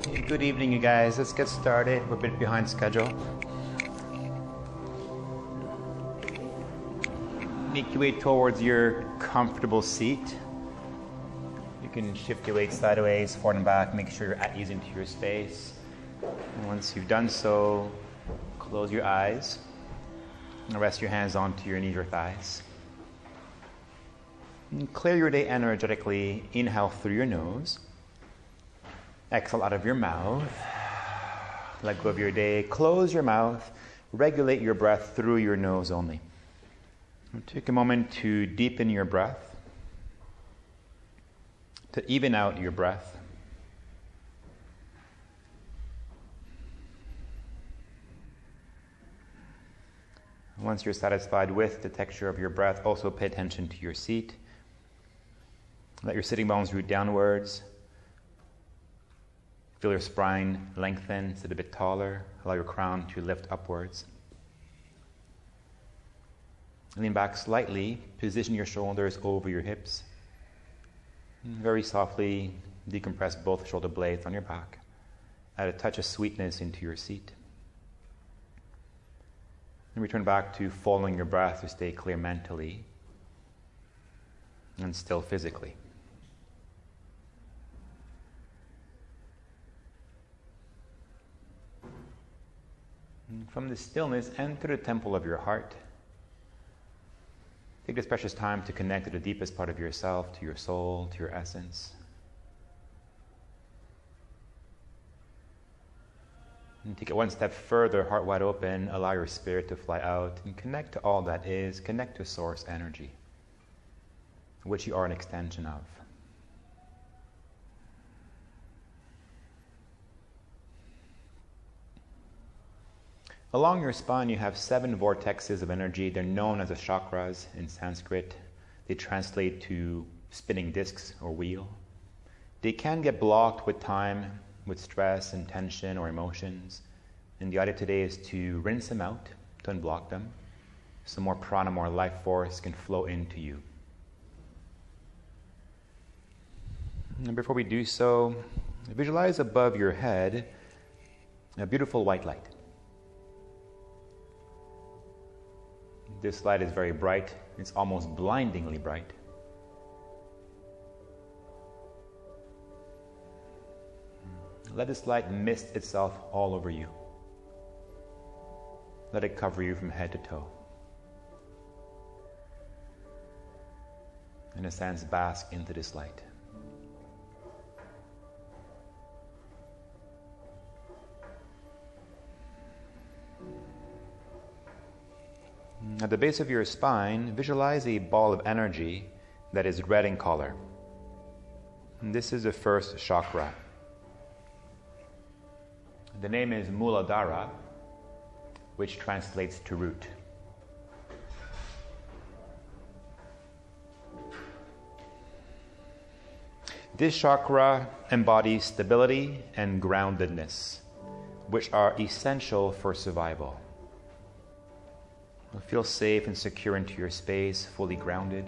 Good evening, you guys. Let's get started. We're a bit behind schedule. Make your way towards your comfortable seat. You can shift your weight sideways, forward and back. Make sure you're at ease into your space. And once you've done so, close your eyes and rest your hands onto your knees or thighs. And clear your day energetically. Inhale through your nose. Exhale out of your mouth. Let go of your day. Close your mouth. Regulate your breath through your nose only. And take a moment to deepen your breath, to even out your breath. Once you're satisfied with the texture of your breath, also pay attention to your seat. Let your sitting bones root downwards. Feel your spine lengthen, sit a bit taller. Allow your crown to lift upwards. Lean back slightly. Position your shoulders over your hips. Very softly decompress both shoulder blades on your back. Add a touch of sweetness into your seat. And return back to following your breath to stay clear mentally and still physically. From the stillness, enter the temple of your heart. Take this precious time to connect to the deepest part of yourself, to your soul, to your essence. And take it one step further, heart wide open, allow your spirit to fly out and connect to all that is, connect to source energy, which you are an extension of. Along your spine, you have 7 vortexes of energy. They're known as the chakras in Sanskrit. They translate to spinning discs or wheel. They can get blocked with time, with stress and tension or emotions. And the idea today is to rinse them out, to unblock them, so more prana, more life force can flow into you. And before we do so, visualize above your head a beautiful white light. This light is very bright. It's almost blindingly bright. Let this light mist itself all over you. Let it cover you from head to toe. In a sense, bask into this light. At the base of your spine, visualize a ball of energy that is red in color. And this is the first chakra. The name is Muladhara, which translates to root. This chakra embodies stability and groundedness, which are essential for survival. Feel safe and secure into your space, fully grounded.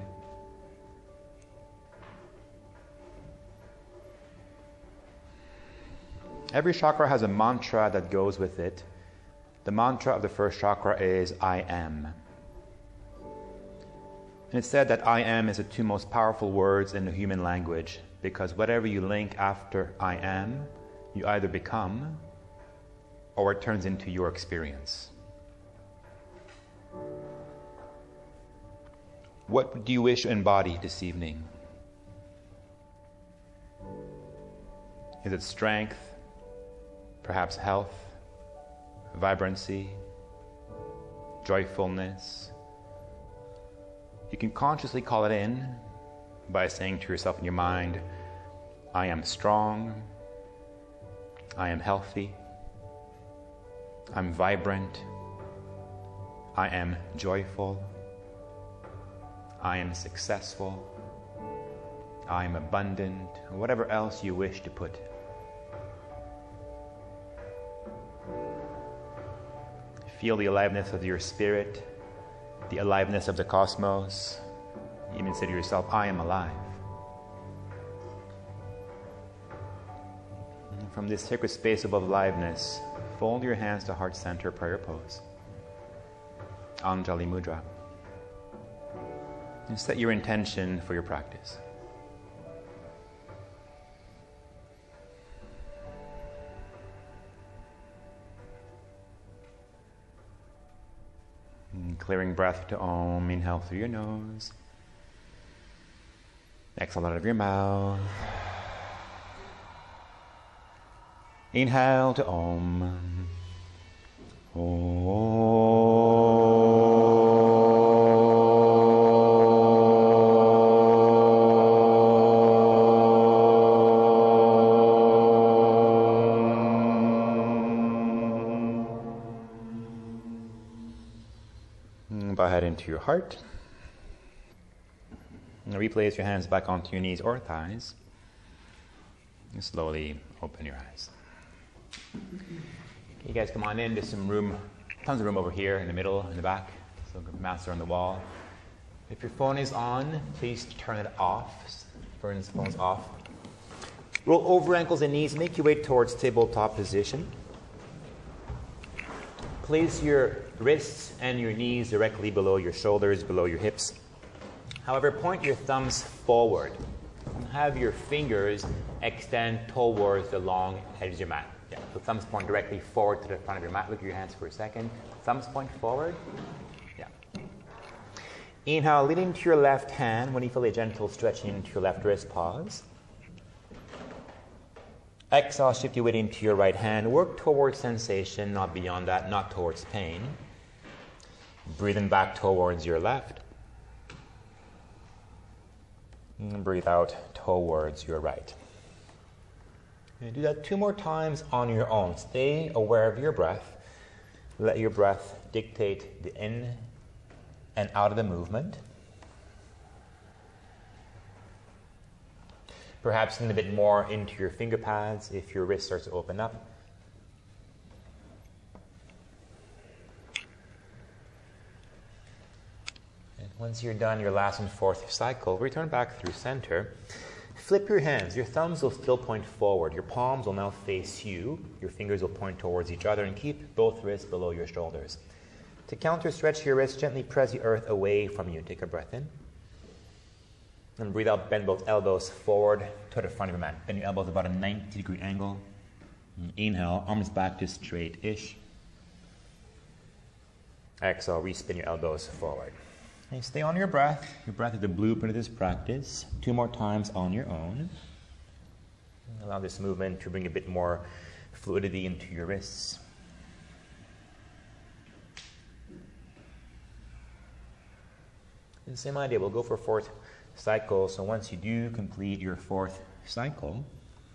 Every chakra has a mantra that goes with it. The mantra of the first chakra is I am. And it's said that I am is the 2 most powerful words in the human language, because whatever you link after I am, you either become or it turns into your experience. What do you wish to embody this evening? Is it strength, perhaps health, vibrancy, joyfulness? You can consciously call it in by saying to yourself in your mind, I am strong, I am healthy, I'm vibrant, I am joyful, I am successful, I am abundant, whatever else you wish to put. Feel the aliveness of your spirit, the aliveness of the cosmos. Even say to yourself, I am alive. from this sacred space of aliveness, fold your hands to heart center, prayer pose. Anjali Mudra. And set your intention for your practice. And clearing breath to Om. Inhale through your nose. Exhale out of your mouth. Inhale to Om. Bow head into your heart. And replace your hands back onto your knees or thighs. And slowly open your eyes. You guys come on in. There's some room, tons of room over here in the middle, in the back. So mats are on the wall. If your phone is on, please turn it off. Turn the phone's off. Roll over ankles and knees. Make your way towards tabletop position. Place your wrists and your knees directly below your shoulders, below your hips. However, point your thumbs forward. Have your fingers extend towards the long edge of your mat. Yeah, so thumbs point directly forward to the front of your mat. Look at your hands for a second. Thumbs point forward. Yeah. Inhale, lean into your left hand. When you feel a gentle stretching into your left wrist, pause. Exhale, shift your weight into your right hand. Work towards sensation, not beyond that, not towards pain. Breathing back towards your left. And breathe out towards your right. And do that 2 more times on your own. Stay aware of your breath. Let your breath dictate the in and out of the movement. Perhaps lean a bit more into your finger pads if your wrist starts to open up. And once you're done your last and fourth cycle, return back through center. Flip your hands. Your thumbs will still point forward. Your palms will now face you. Your fingers will point towards each other, and keep both wrists below your shoulders. To counter stretch your wrists, gently press the earth away from you. Take a breath in. And breathe out, bend both elbows forward to the front of your mat. Bend your elbows about a 90-degree angle. And inhale, arms back to straight-ish. Exhale, respin your elbows forward. And stay on your breath. Your breath is the blueprint of this practice. 2 more times on your own. And allow this movement to bring a bit more fluidity into your wrists. And same idea, we'll go for 4th cycle. So once you do complete your 4th cycle,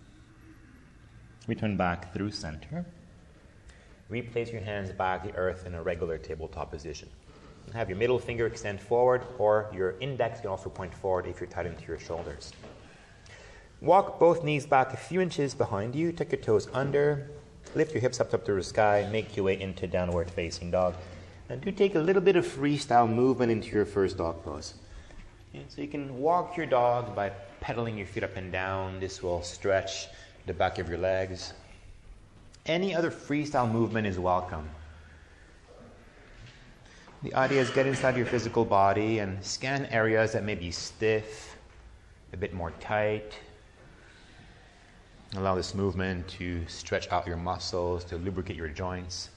return back through center. Replace your hands back to the earth in a regular tabletop position. Have your middle finger extend forward, or your index can also point forward if you're tight into your shoulders. Walk both knees back a few inches behind you. Tuck your toes under. Lift your hips up to the sky. Make your way into downward facing dog. And do take a little bit of freestyle movement into your first dog pose. So you can walk your dog by pedaling your feet up and down. This will stretch the back of your legs. Any other freestyle movement is welcome. The idea is get inside your physical body and scan areas that may be stiff, a bit more tight. Allow this movement to stretch out your muscles, to lubricate your joints.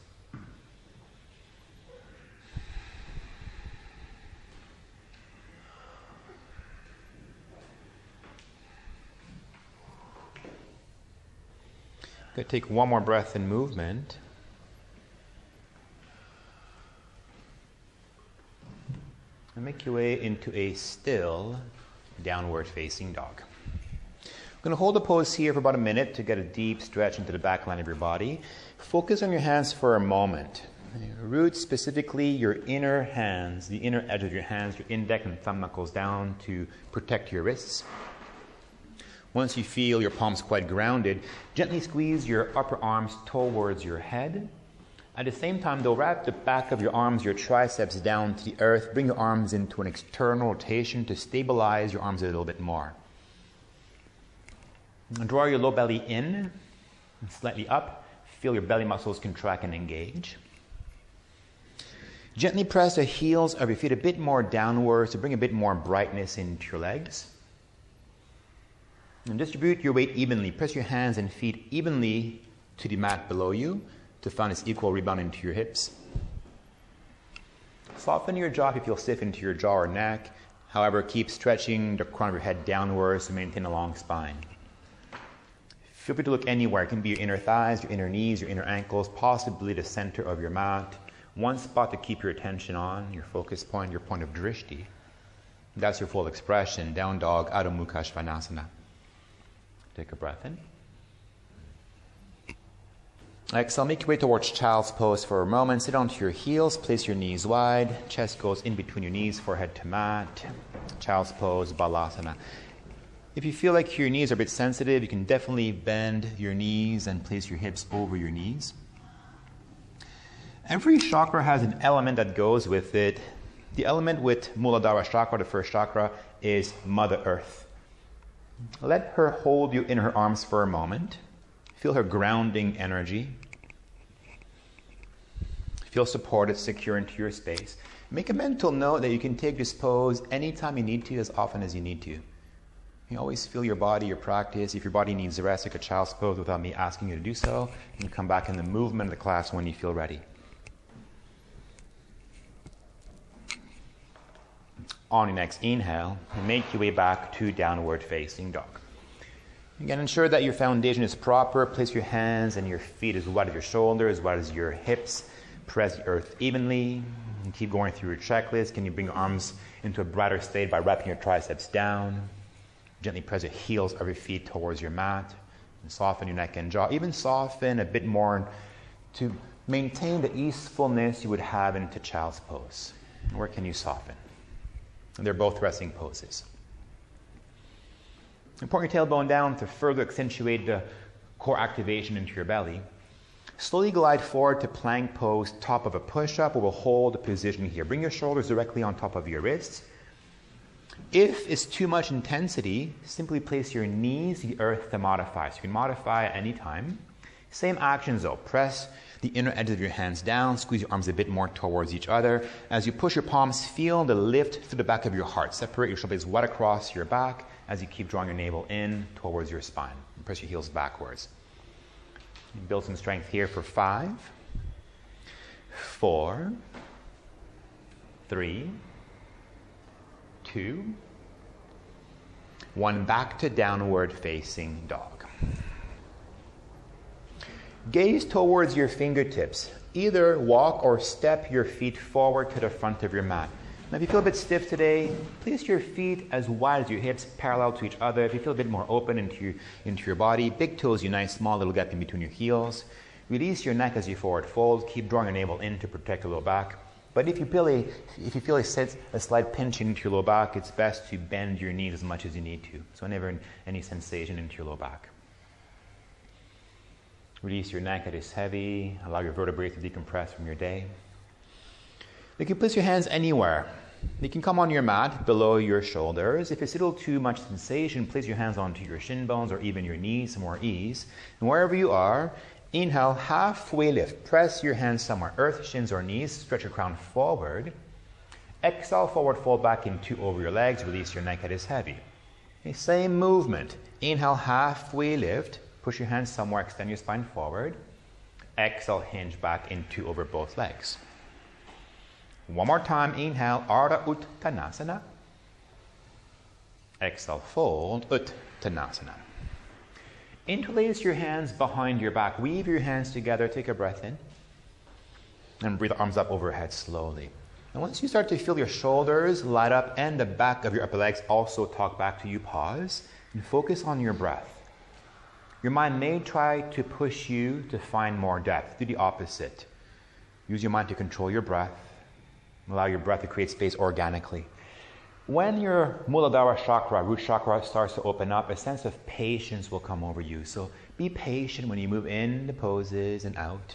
Good. Take 1 more breath in movement. And make your way into a still downward facing dog. I'm going to hold the pose here for about a minute to get a deep stretch into the back line of your body. Focus on your hands for a moment. Root specifically your inner hands, the inner edge of your hands, your index and thumb knuckles down to protect your wrists. Once you feel your palms quite grounded, gently squeeze your upper arms towards your head. At the same time, though, wrap the back of your arms, your triceps down to the earth. Bring your arms into an external rotation to stabilize your arms a little bit more. And draw your low belly in. And slightly up, feel your belly muscles contract and engage. Gently press the heels of your feet a bit more downwards to bring a bit more brightness into your legs. And distribute your weight evenly. Press your hands and feet evenly to the mat below you to find this equal rebound into your hips. Soften your jaw if you feel stiff into your jaw or neck. However, keep stretching the crown of your head downwards to maintain a long spine. Feel free to look anywhere. It can be your inner thighs, your inner knees, your inner ankles, possibly the center of your mat. One spot to keep your attention on, your focus point, your point of drishti. That's your full expression. Down dog, Adho Mukha Svanasana. Take a breath in. Exhale, make your way towards child's pose for a moment. Sit onto your heels, place your knees wide. Chest goes in between your knees, forehead to mat. Child's pose, Balasana. If you feel like your knees are a bit sensitive, you can definitely bend your knees and place your hips over your knees. Every chakra has an element that goes with it. The element with Muladhara chakra, the first chakra, is Mother Earth. Let her hold you in her arms for a moment. Feel her grounding energy. Feel supported, secure into your space. Make a mental note that you can take this pose anytime you need to, as often as you need to. You always feel your body, your practice. If your body needs rest, take a child's pose without me asking you to do so. You can come back in the movement of the class when you feel ready. On your next inhale, make your way back to downward facing dog. Again, ensure that your foundation is proper. Place your hands and your feet as wide as your shoulders, as wide as your hips. Press the earth evenly. And keep going through your checklist. Can you bring your arms into a brighter state by wrapping your triceps down? Gently press the heels of your feet towards your mat. And soften your neck and jaw. Even soften a bit more to maintain the easefulness you would have into child's pose. Where can you soften? And they're both resting poses. And point your tailbone down to further accentuate the core activation into your belly. Slowly glide forward to plank pose, top of a push-up, or we'll hold the position here. Bring your shoulders directly on top of your wrists. If it's too much intensity, simply place your knees to the earth to modify. So you can modify at any time. Same actions though. Press the inner edges of your hands down. Squeeze your arms a bit more towards each other. As you push your palms, feel the lift through the back of your heart. Separate your shoulders wide across your back as you keep drawing your navel in towards your spine. And press your heels backwards. You build some strength here for 5, 4, 3, 2, 1. Back to downward facing dog. Gaze towards your fingertips. Either walk or step your feet forward to the front of your mat. Now if you feel a bit stiff today, place your feet as wide as your hips, parallel to each other. If you feel a bit more open into your body, big toes unite, small little gap in between your heels. Release your neck as you forward fold. Keep drawing your navel in to protect your low back. But if you feel a slight pinch into your low back, it's best to bend your knees as much as you need to. So never any sensation into your low back. Release your neck, it is heavy. Allow your vertebrae to decompress from your day. You can place your hands anywhere. You can come on your mat below your shoulders. If it's a little too much sensation, place your hands onto your shin bones or even your knees, some more ease. And wherever you are, inhale, halfway lift. Press your hands somewhere, earth, shins, or knees. Stretch your crown forward. Exhale, forward fold back into over your legs. Release your neck, it is heavy. Okay, same movement. Inhale, halfway lift. Push your hands somewhere, extend your spine forward. Exhale, hinge back into over both legs. One more time, inhale, Ardha Uttanasana. Exhale, fold, Uttanasana. Interlace your hands behind your back. Weave your hands together, take a breath in. And breathe the arms up overhead slowly. And once you start to feel your shoulders light up and the back of your upper legs also talk back to you, pause and focus on your breath. Your mind may try to push you to find more depth. Do the opposite. Use your mind to control your breath. Allow your breath to create space organically. When your Muladhara chakra, root chakra, starts to open up, a sense of patience will come over you. So be patient when you move in the poses and out.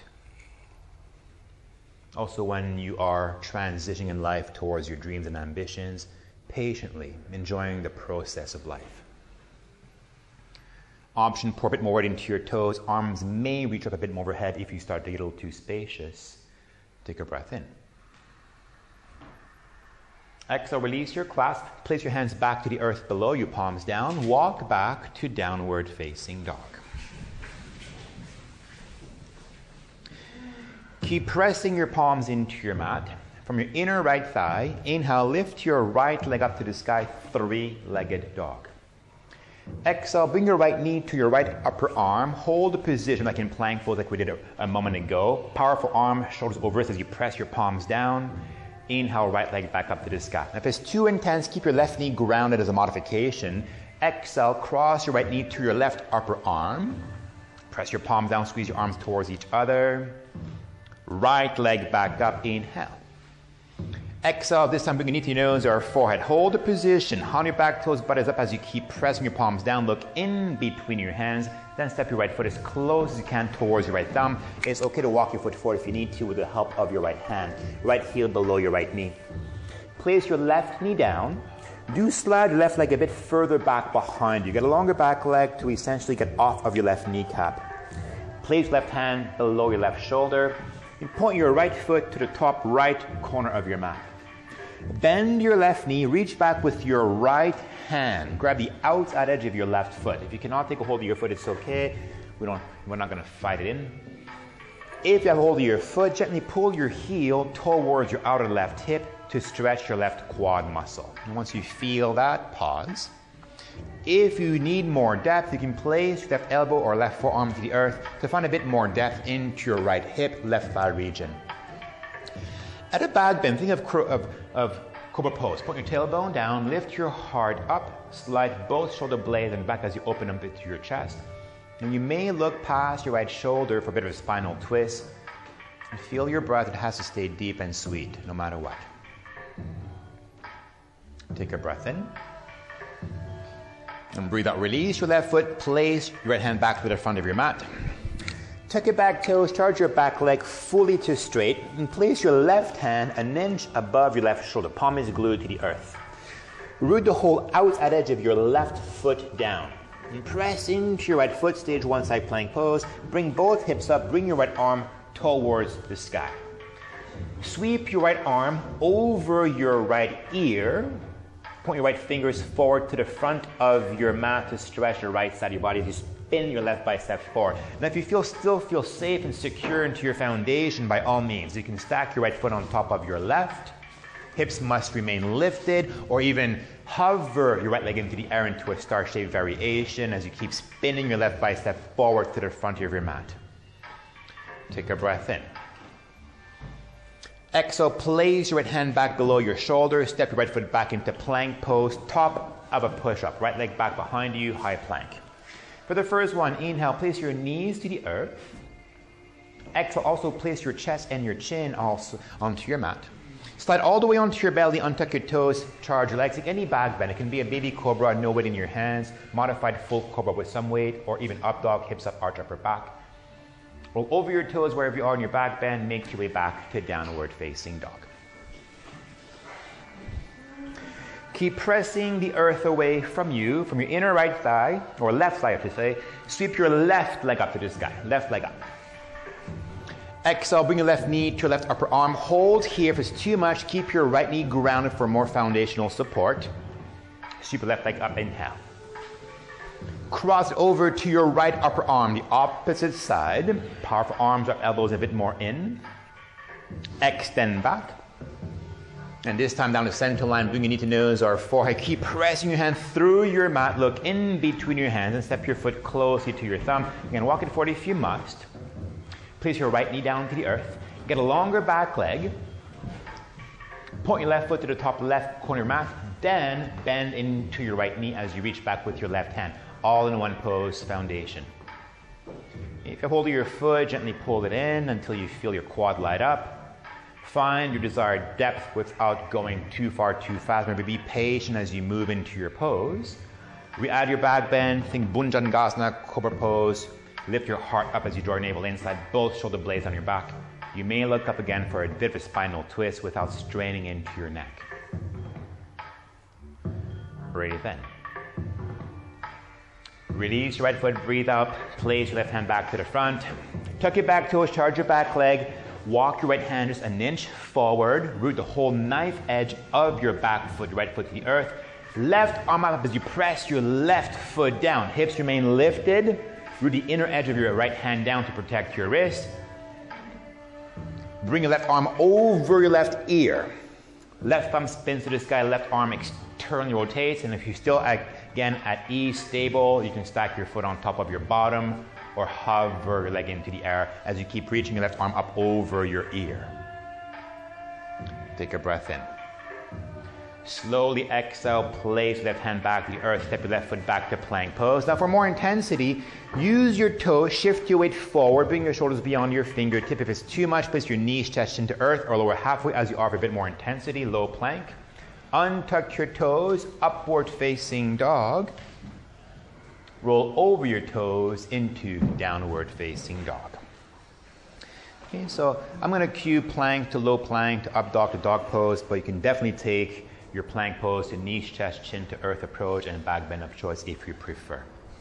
Also when you are transitioning in life towards your dreams and ambitions, patiently enjoying the process of life. Option, pour a bit more weight into your toes. Arms may reach up a bit more overhead if you start to get a little too spacious. Take a breath in. Exhale, release your clasp. Place your hands back to the earth below you, palms down. Walk back to downward facing dog. Keep pressing your palms into your mat. From your inner right thigh, inhale, lift your right leg up to the sky, three-legged dog. Exhale, bring your right knee to your right upper arm. Hold the position like in plank pose like we did a moment ago. Powerful arm, shoulders over wrists as you press your palms down. Inhale, right leg back up to the sky. Now, if it's too intense, keep your left knee grounded as a modification. Exhale, cross your right knee to your left upper arm. Press your palms down, squeeze your arms towards each other. Right leg back up, inhale. Exhale, this time bring your knee to your nose or forehead. Hold the position. On your back toes, butt is up as you keep pressing your palms down. Look in between your hands. Then step your right foot as close as you can towards your right thumb. It's okay to walk your foot forward if you need to with the help of your right hand. Right heel below your right knee. Place your left knee down. Do slide your left leg a bit further back behind you. Get a longer back leg to essentially get off of your left kneecap. Place your left hand below your left shoulder. You point your right foot to the top right corner of your mat. Bend your left knee, reach back with your right hand. Grab the outside edge of your left foot. If you cannot take a hold of your foot, it's okay. We're not going to fight it in. If you have a hold of your foot, gently pull your heel towards your outer left hip to stretch your left quad muscle. And once you feel that, pause. If you need more depth, you can place your left elbow or left forearm to the earth to find a bit more depth into your right hip, left thigh region. At a back bend, think of Cobra pose. Point your tailbone down, lift your heart up, slide both shoulder blades and back as you open up into your chest. And you may look past your right shoulder for a bit of a spinal twist. And feel your breath, it has to stay deep and sweet, no matter what. Take a breath in. And breathe out, release your left foot, place your right hand back to the front of your mat. Tuck your back toes, charge your back leg fully to straight, and place your left hand an inch above your left shoulder. Palm is glued to the earth. Root the whole outside edge of your left foot down. And press into your right foot, stage one side plank pose. Bring both hips up, bring your right arm towards the sky. Sweep your right arm over your right ear. Point your right fingers forward to the front of your mat to stretch the right side of your body. Just spin your left bicep forward. Now if you still feel safe and secure into your foundation, by all means, you can stack your right foot on top of your left. Hips must remain lifted, or even hover your right leg into the air into a star shape variation as you keep spinning your left bicep forward to the front of your mat. Take a breath in. Exhale, place your right hand back below your shoulder, step your right foot back into plank pose, top of a push-up, right leg back behind you, high plank. For the first one, inhale, place your knees to the earth. Exhale, also place your chest and your chin also onto your mat. Slide all the way onto your belly, untuck your toes, charge your legs, like any back bend. It can be a baby cobra, no weight in your hands, modified full cobra with some weight, or even up dog, hips up, arch upper back. Roll over your toes wherever you are in your back bend, make your way back to downward facing dog. Keep pressing the earth away from you, from your inner right thigh, or left thigh I should say. Sweep your left leg up to the sky, left leg up. Exhale, bring your left knee to your left upper arm. Hold here. If it's too much, keep your right knee grounded for more foundational support. Sweep your left leg up, inhale. Cross it over to your right upper arm, the opposite side. Powerful arms or elbows a bit more in. Extend back. And this time down the center line, bring your knee to nose or forehead. Keep pressing your hand through your mat. Look in between your hands and step your foot closely to your thumb. You can walk it forward if you must. Place your right knee down to the earth. Get a longer back leg. Point your left foot to the top left corner of your mat. Then bend into your right knee as you reach back with your left hand. All in one pose, foundation. If you hold your foot, gently pull it in until you feel your quad light up. Find your desired depth without going too far too fast. Maybe be patient as you move into your pose. Re-add your back bend. Think Bhujangasana, Cobra pose. Lift your heart up as you draw your navel inside, both shoulder blades on your back. You may look up again for a bit of a spinal twist without straining into your neck. Breathe in. Release your right foot, breathe out, place your left hand back to the front. Tuck your back toes, charge your back leg. Walk your right hand just an inch forward. Root the whole knife edge of your back foot, your right foot to the earth. Left arm up as you press your left foot down. Hips remain lifted. Root the inner edge of your right hand down to protect your wrist. Bring your left arm over your left ear. Left thumb spins to the sky, left arm externally rotates. And if you're still, again, at ease, stable, you can stack your foot on top of your bottom or hover your leg into the air as you keep reaching your left arm up over your ear. Take a breath in. Slowly exhale, place your left hand back to the earth, step your left foot back to plank pose. Now for more intensity, use your toes, shift your weight forward, bring your shoulders beyond your fingertip. If it's too much, place your knees, chest into earth or lower halfway as you offer a bit more intensity, low plank. Untuck your toes, upward facing dog. Roll over your toes into downward facing dog. Okay, so I'm going to cue plank to low plank to up dog to dog pose, but you can definitely take your plank pose to knees, chest, chin to earth approach and back bend of choice if you prefer.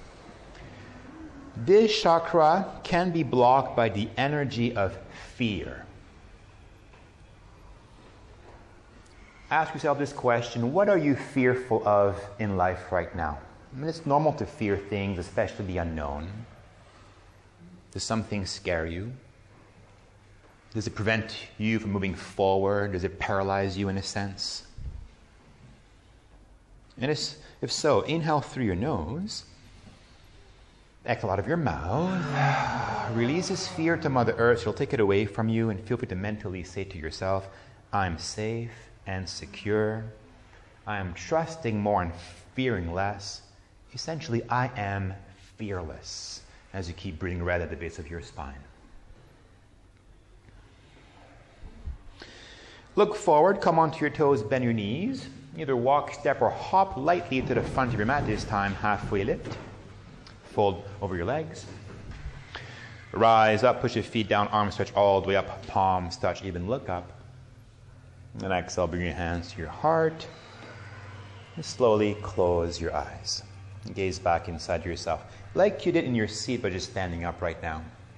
This chakra can be blocked by the energy of fear. Ask yourself this question: what are you fearful of in life right now? I mean, it's normal to fear things, especially the unknown. Does something scare you? Does it prevent you from moving forward? Does it paralyze you in a sense? And if so, inhale through your nose, exhale out of your mouth, release this fear to Mother Earth. She'll take it away from you, and feel free to mentally say to yourself, I'm safe and secure. I am trusting more and fearing less. Essentially, I am fearless, as you keep breathing red at the base of your spine. Look forward, come onto your toes, bend your knees. Either walk, step, or hop lightly to the front of your mat, this time halfway lift. Fold over your legs. Rise up, push your feet down, arms stretch all the way up, palms touch, even look up. And exhale, bring your hands to your heart. And slowly close your eyes. Gaze back inside yourself, like you did in your seat, but just standing up right now.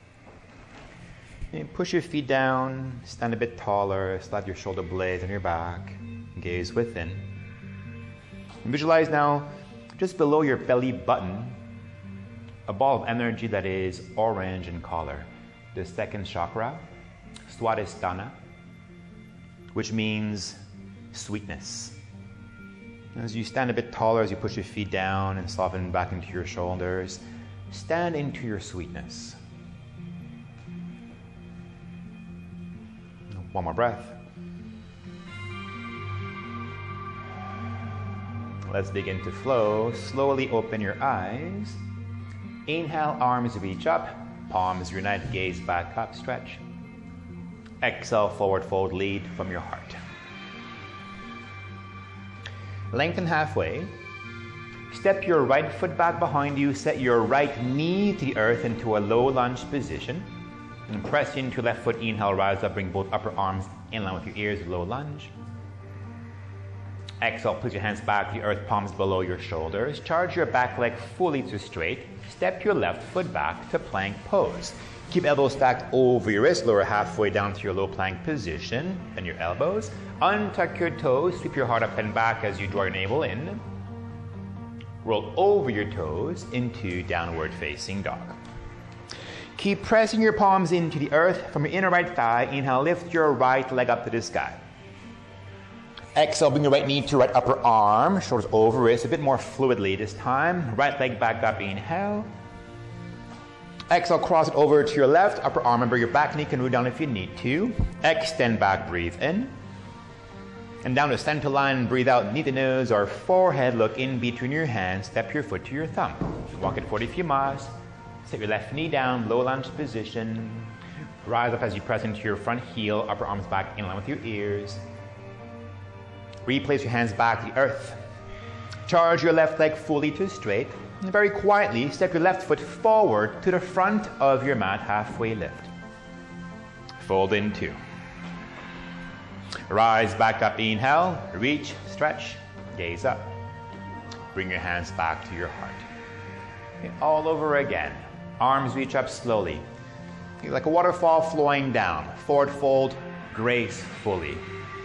And push your feet down, stand a bit taller, slide your shoulder blades on your back. Gaze within. And visualize now, just below your belly button, a ball of energy that is orange in color. The second chakra, Swadhisthana, which means sweetness. As you stand a bit taller, as you push your feet down and soften back into your shoulders, stand into your sweetness. One more breath. Let's begin to flow. Slowly open your eyes. Inhale, arms reach up, palms unite, gaze back up, stretch. Exhale, forward fold, lead from your heart. Lengthen halfway. Step your right foot back behind you, set your right knee to the earth into a low lunge position. And press into your left foot, inhale, rise up, bring both upper arms in line with your ears, low lunge. Exhale, place your hands back to the earth, palms below your shoulders. Charge your back leg fully to straight. Step your left foot back to plank pose. Keep elbows stacked over your wrist, lower halfway down to your low plank position. Bend your elbows. Untuck your toes, sweep your heart up and back as you draw your navel in. Roll over your toes into downward facing dog. Keep pressing your palms into the earth. From your inner right thigh, inhale, lift your right leg up to the sky. Exhale, bring your right knee to right upper arm, shoulders over wrist, a bit more fluidly this time. Right leg back up, inhale. Exhale, cross it over to your left upper arm. Remember, your back knee can root down if you need to. Extend back, breathe in. And down to center line, breathe out, knee to nose or forehead, look in between your hands, step your foot to your thumb. Walk it 40 if you must. Set your left knee down, low lunge position. Rise up as you press into your front heel, upper arms back in line with your ears. Replace your hands back to the earth. Charge your left leg fully to straight. And very quietly, step your left foot forward to the front of your mat, halfway lift. Fold in two. Rise back up, inhale, reach, stretch, gaze up. Bring your hands back to your heart. Okay, all over again. Arms reach up slowly. Okay, like a waterfall flowing down. Forward fold gracefully.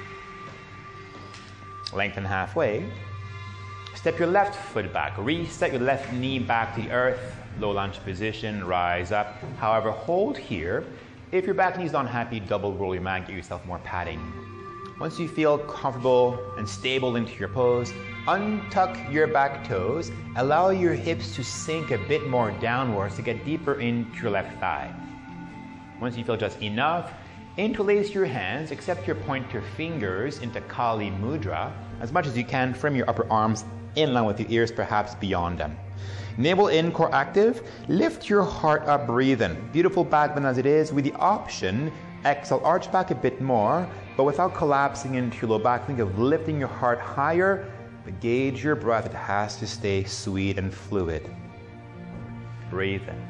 Lengthen halfway. Step your left foot back. Reset your left knee back to the earth. Low lunge position, rise up. However, hold here. If your back knee is not happy, double roll your mat, get yourself more padding. Once you feel comfortable and stable into your pose, untuck your back toes. Allow your hips to sink a bit more downwards to get deeper into your left thigh. Once you feel just enough, interlace your hands, accept your pointer fingers into Kali Mudra. As much as you can, frame your upper arms in line with your ears, perhaps beyond them. Navel in, core active. Lift your heart up, breathe in. Beautiful back bend as it is. With the option, exhale, arch back a bit more, but without collapsing into your low back. Think of lifting your heart higher, but gauge your breath. It has to stay sweet and fluid. Breathe in.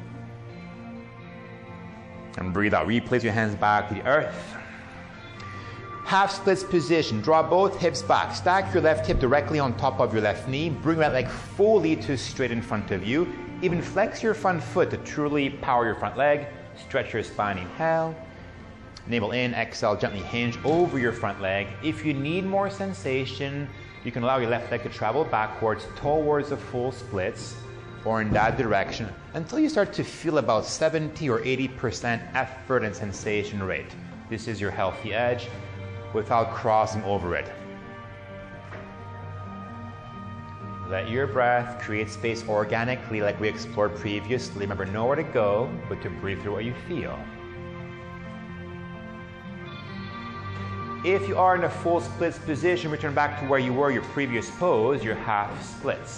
And breathe out. Replace your hands back to the earth. Half splits position. Draw both hips back. Stack your left hip directly on top of your left knee. Bring that leg fully to straight in front of you. Even flex your front foot to truly power your front leg. Stretch your spine. Inhale. Navel in. Exhale. Gently hinge over your front leg. If you need more sensation, you can allow your left leg to travel backwards towards the full splits or in that direction until you start to feel about 70 or 80% effort and sensation rate. This is your healthy edge without crossing over it. Let your breath create space organically like we explored previously. Remember, nowhere to go, but to breathe through what you feel. If you are in a full splits position, return back to where you were, your previous pose, your half splits.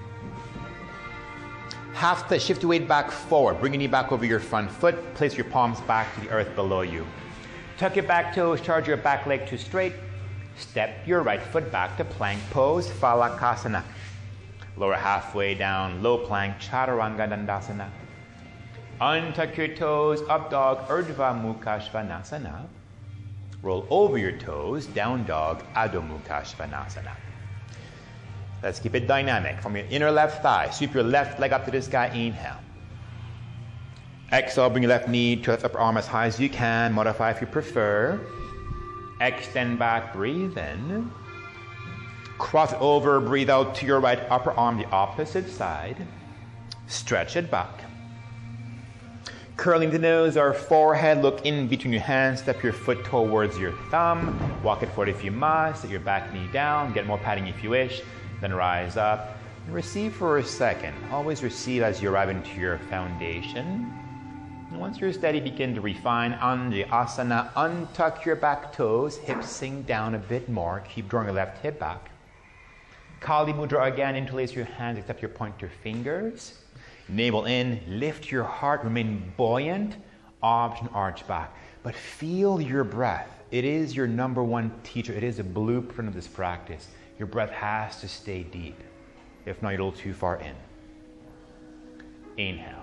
Half split, shift your weight back forward. Bring your knee back over your front foot. Place your palms back to the earth below you. Tuck your back toes, charge your back leg to straight. Step your right foot back to plank pose, Phalakasana. Lower halfway down, low plank, Chaturanga Dandasana. Untuck your toes, up dog, Urdhva Mukha Svanasana. Roll over your toes, down dog, Adho Mukha Svanasana. Let's keep it dynamic. From your inner left thigh, sweep your left leg up to the sky, inhale. Exhale, bring your left knee to left upper arm as high as you can. Modify if you prefer. Extend back, breathe in. Cross it over, breathe out to your right upper arm, the opposite side. Stretch it back. Curling the nose or forehead, look in between your hands, step your foot towards your thumb. Walk it forward if you must, set your back knee down, get more padding if you wish. Then rise up and receive for a second. Always receive as you arrive into your foundation. And once you're steady, begin to refine Anjasana. Untuck your back toes, hips sink down a bit more. Keep drawing your left hip back. Kali Mudra again, interlace your hands, accept your pointer fingers. Navel in, lift your heart, remain buoyant. Option, arch back. But feel your breath. It is your number one teacher. It is a blueprint of this practice. Your breath has to stay deep. If not, you're a little too far in. Inhale.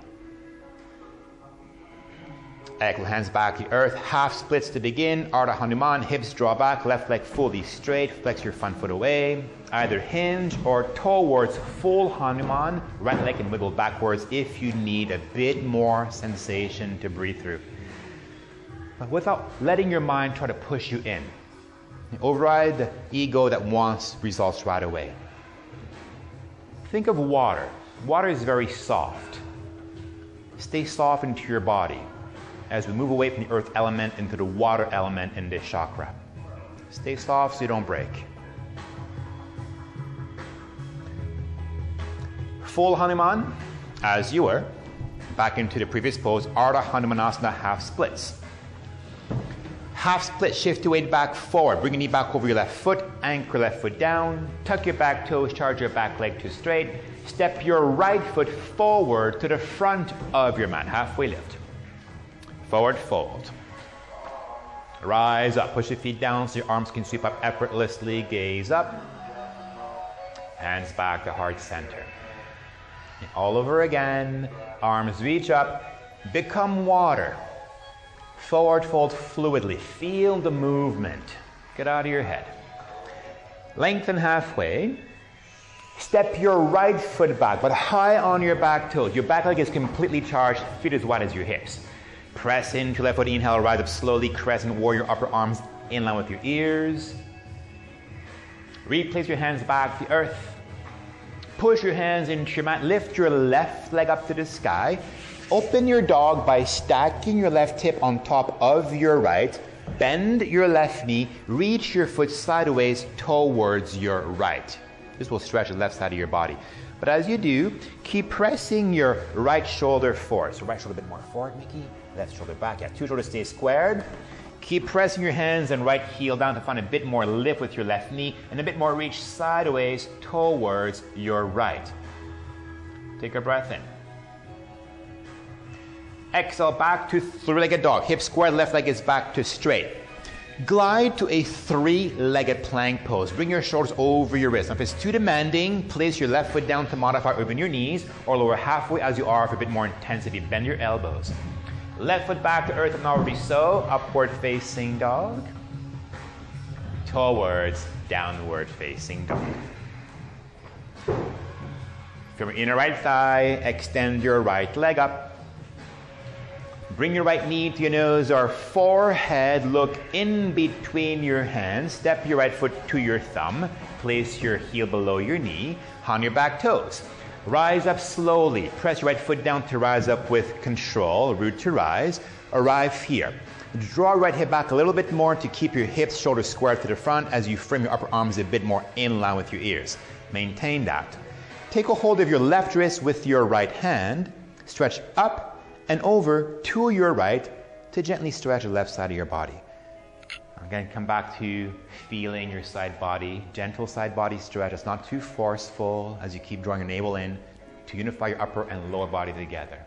Exhale, hands back to the earth. Half splits to begin. Ardha Hanuman, hips draw back, left leg fully straight. Flex your front foot away. Either hinge or towards full Hanuman. Right leg can wiggle backwards if you need a bit more sensation to breathe through. But without letting your mind try to push you in. Override the ego that wants results right away. Think of water. Water is very soft. Stay soft into your body as we move away from the earth element into the water element in this chakra. Stay soft so you don't break. Full Hanuman, as you were. Back into the previous pose, Ardha Hanumanasana, half splits. Half split, shift your weight back forward. Bring your knee back over your left foot, anchor left foot down. Tuck your back toes, charge your back leg to straight. Step your right foot forward to the front of your mat, halfway lift. Forward fold. Rise up, push your feet down so your arms can sweep up effortlessly. Gaze up. Hands back to heart center. And all over again, arms reach up, become water. Forward fold fluidly. Feel the movement. Get out of your head. Lengthen halfway. Step your right foot back, but high on your back toes. Your back leg is completely charged, feet as wide as your hips. Press into left foot, inhale, rise up slowly, crescent warrior, upper arms in line with your ears. Replace your hands back to the earth. Push your hands into your mat, lift your left leg up to the sky. Open your dog by stacking your left hip on top of your right. Bend your left knee, reach your foot sideways towards your right. This will stretch the left side of your body. But as you do, keep pressing your right shoulder forward. So right shoulder a bit more forward, Mickey. Left shoulder back. Yeah, two shoulders stay squared. Keep pressing your hands and right heel down to find a bit more lift with your left knee and a bit more reach sideways towards your right. Take a breath in. Exhale back to three-legged dog. Hip squared, left leg is back to straight. Glide to a three-legged plank pose. Bring your shoulders over your wrists. Now, if it's too demanding, place your left foot down to modify, open your knees, or lower halfway as you are for a bit more intensity. Bend your elbows. Left foot back to earth and already so. Upward facing dog. Towards downward facing dog. From your inner right thigh, extend your right leg up. Bring your right knee to your nose or forehead. Look in between your hands. Step your right foot to your thumb. Place your heel below your knee on your back toes. Rise up slowly. Press your right foot down to rise up with control. Root to rise. Arrive here. Draw your right hip back a little bit more to keep your hips, shoulders squared to the front as you frame your upper arms a bit more in line with your ears. Maintain that. Take a hold of your left wrist with your right hand. Stretch up and over to your right to gently stretch the left side of your body. Again, come back to feeling your side body, gentle side body stretch. It's not too forceful as you keep drawing your navel in to unify your upper and lower body together.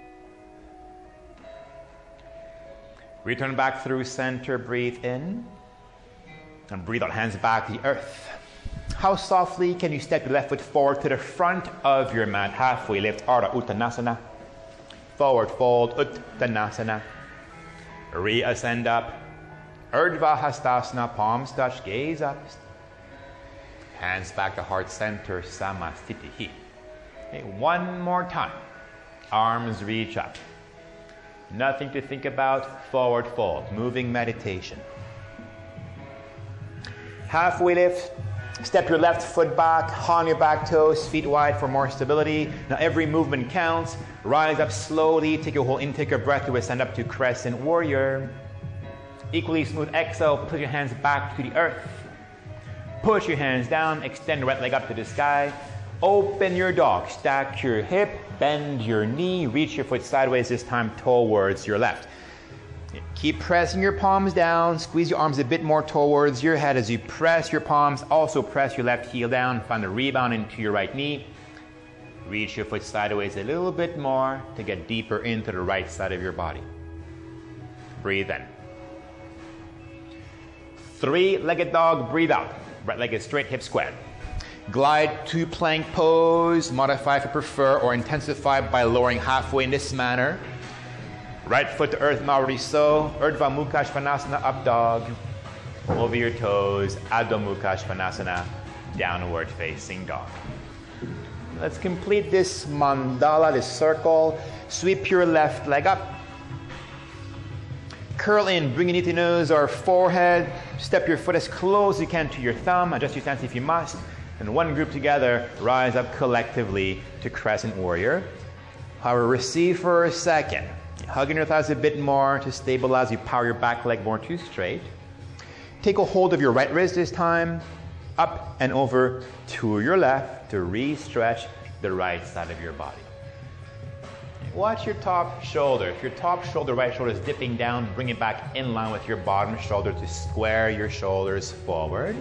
Return back through center, breathe in, and breathe out, hands back to the earth. How softly can you step your left foot forward to the front of your mat, halfway lift, Ardha Uttanasana. Forward fold, Uttanasana. Reascend up. Urdhva Hastasana, palms touch, gaze up. Hands back to heart center, Samasthiti. Okay, one more time. Arms reach up. Nothing to think about, forward fold, moving meditation. Halfway lift. Step your left foot back, on your back toes, feet wide for more stability. Now every movement counts. Rise up slowly, take a whole intake of breath to ascend up to crescent warrior. Equally smooth exhale, put your hands back to the earth. Push your hands down, extend the right leg up to the sky. Open your dog, stack your hip, bend your knee, reach your foot sideways, this time towards your left. Keep pressing your palms down, squeeze your arms a bit more towards your head as you press your palms. Also press your left heel down, find a rebound into your right knee. Reach your foot sideways a little bit more to get deeper into the right side of your body. Breathe in. Three-legged dog, breathe out. Right leg is straight, hip squared. Glide to plank pose, modify if you prefer, or intensify by lowering halfway in this manner. Right foot to earth, already so. Urdhva Mukha Svanasana, up dog. Over your toes, Adho Mukha Svanasana, downward facing dog. Let's complete this mandala, this circle. Sweep your left leg up. Curl in, bring your knee to nose or forehead. Step your foot as close as you can to your thumb. Adjust your stance if you must. And one group together, rise up collectively to crescent warrior. However, receive for a second. Hugging your thighs a bit more to stabilize. You power your back leg more to straight. Take a hold of your right wrist this time. Up and over to your left to re-stretch the right side of your body. Watch your top shoulder. If your top shoulder, right shoulder is dipping down, bring it back in line with your bottom shoulder to square your shoulders forward.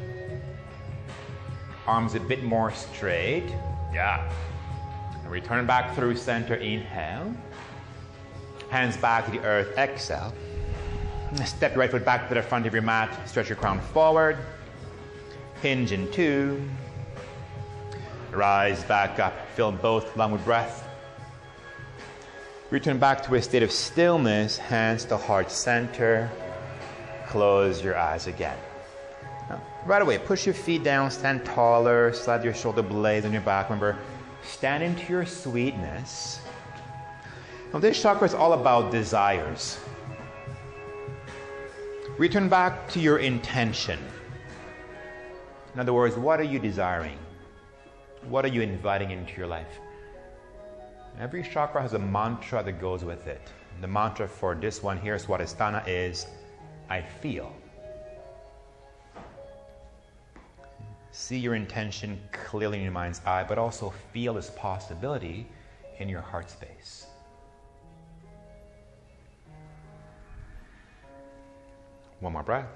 Arms a bit more straight. Yeah. And return back through center, inhale. Hands back to the earth, exhale. Step your right foot back to the front of your mat. Stretch your crown forward. Hinge in two. Rise back up. Fill both lungs with breath. Return back to a state of stillness. Hands to heart center. Close your eyes again. Now, right away, push your feet down, stand taller, slide your shoulder blades on your back. Remember, stand into your sweetness. Now, this chakra is all about desires. Return back to your intention. In other words, what are you desiring? What are you inviting into your life? Every chakra has a mantra that goes with it. The mantra for this one here, Swadhisthana, is I feel. See your intention clearly in your mind's eye, but also feel this possibility in your heart space. One more breath.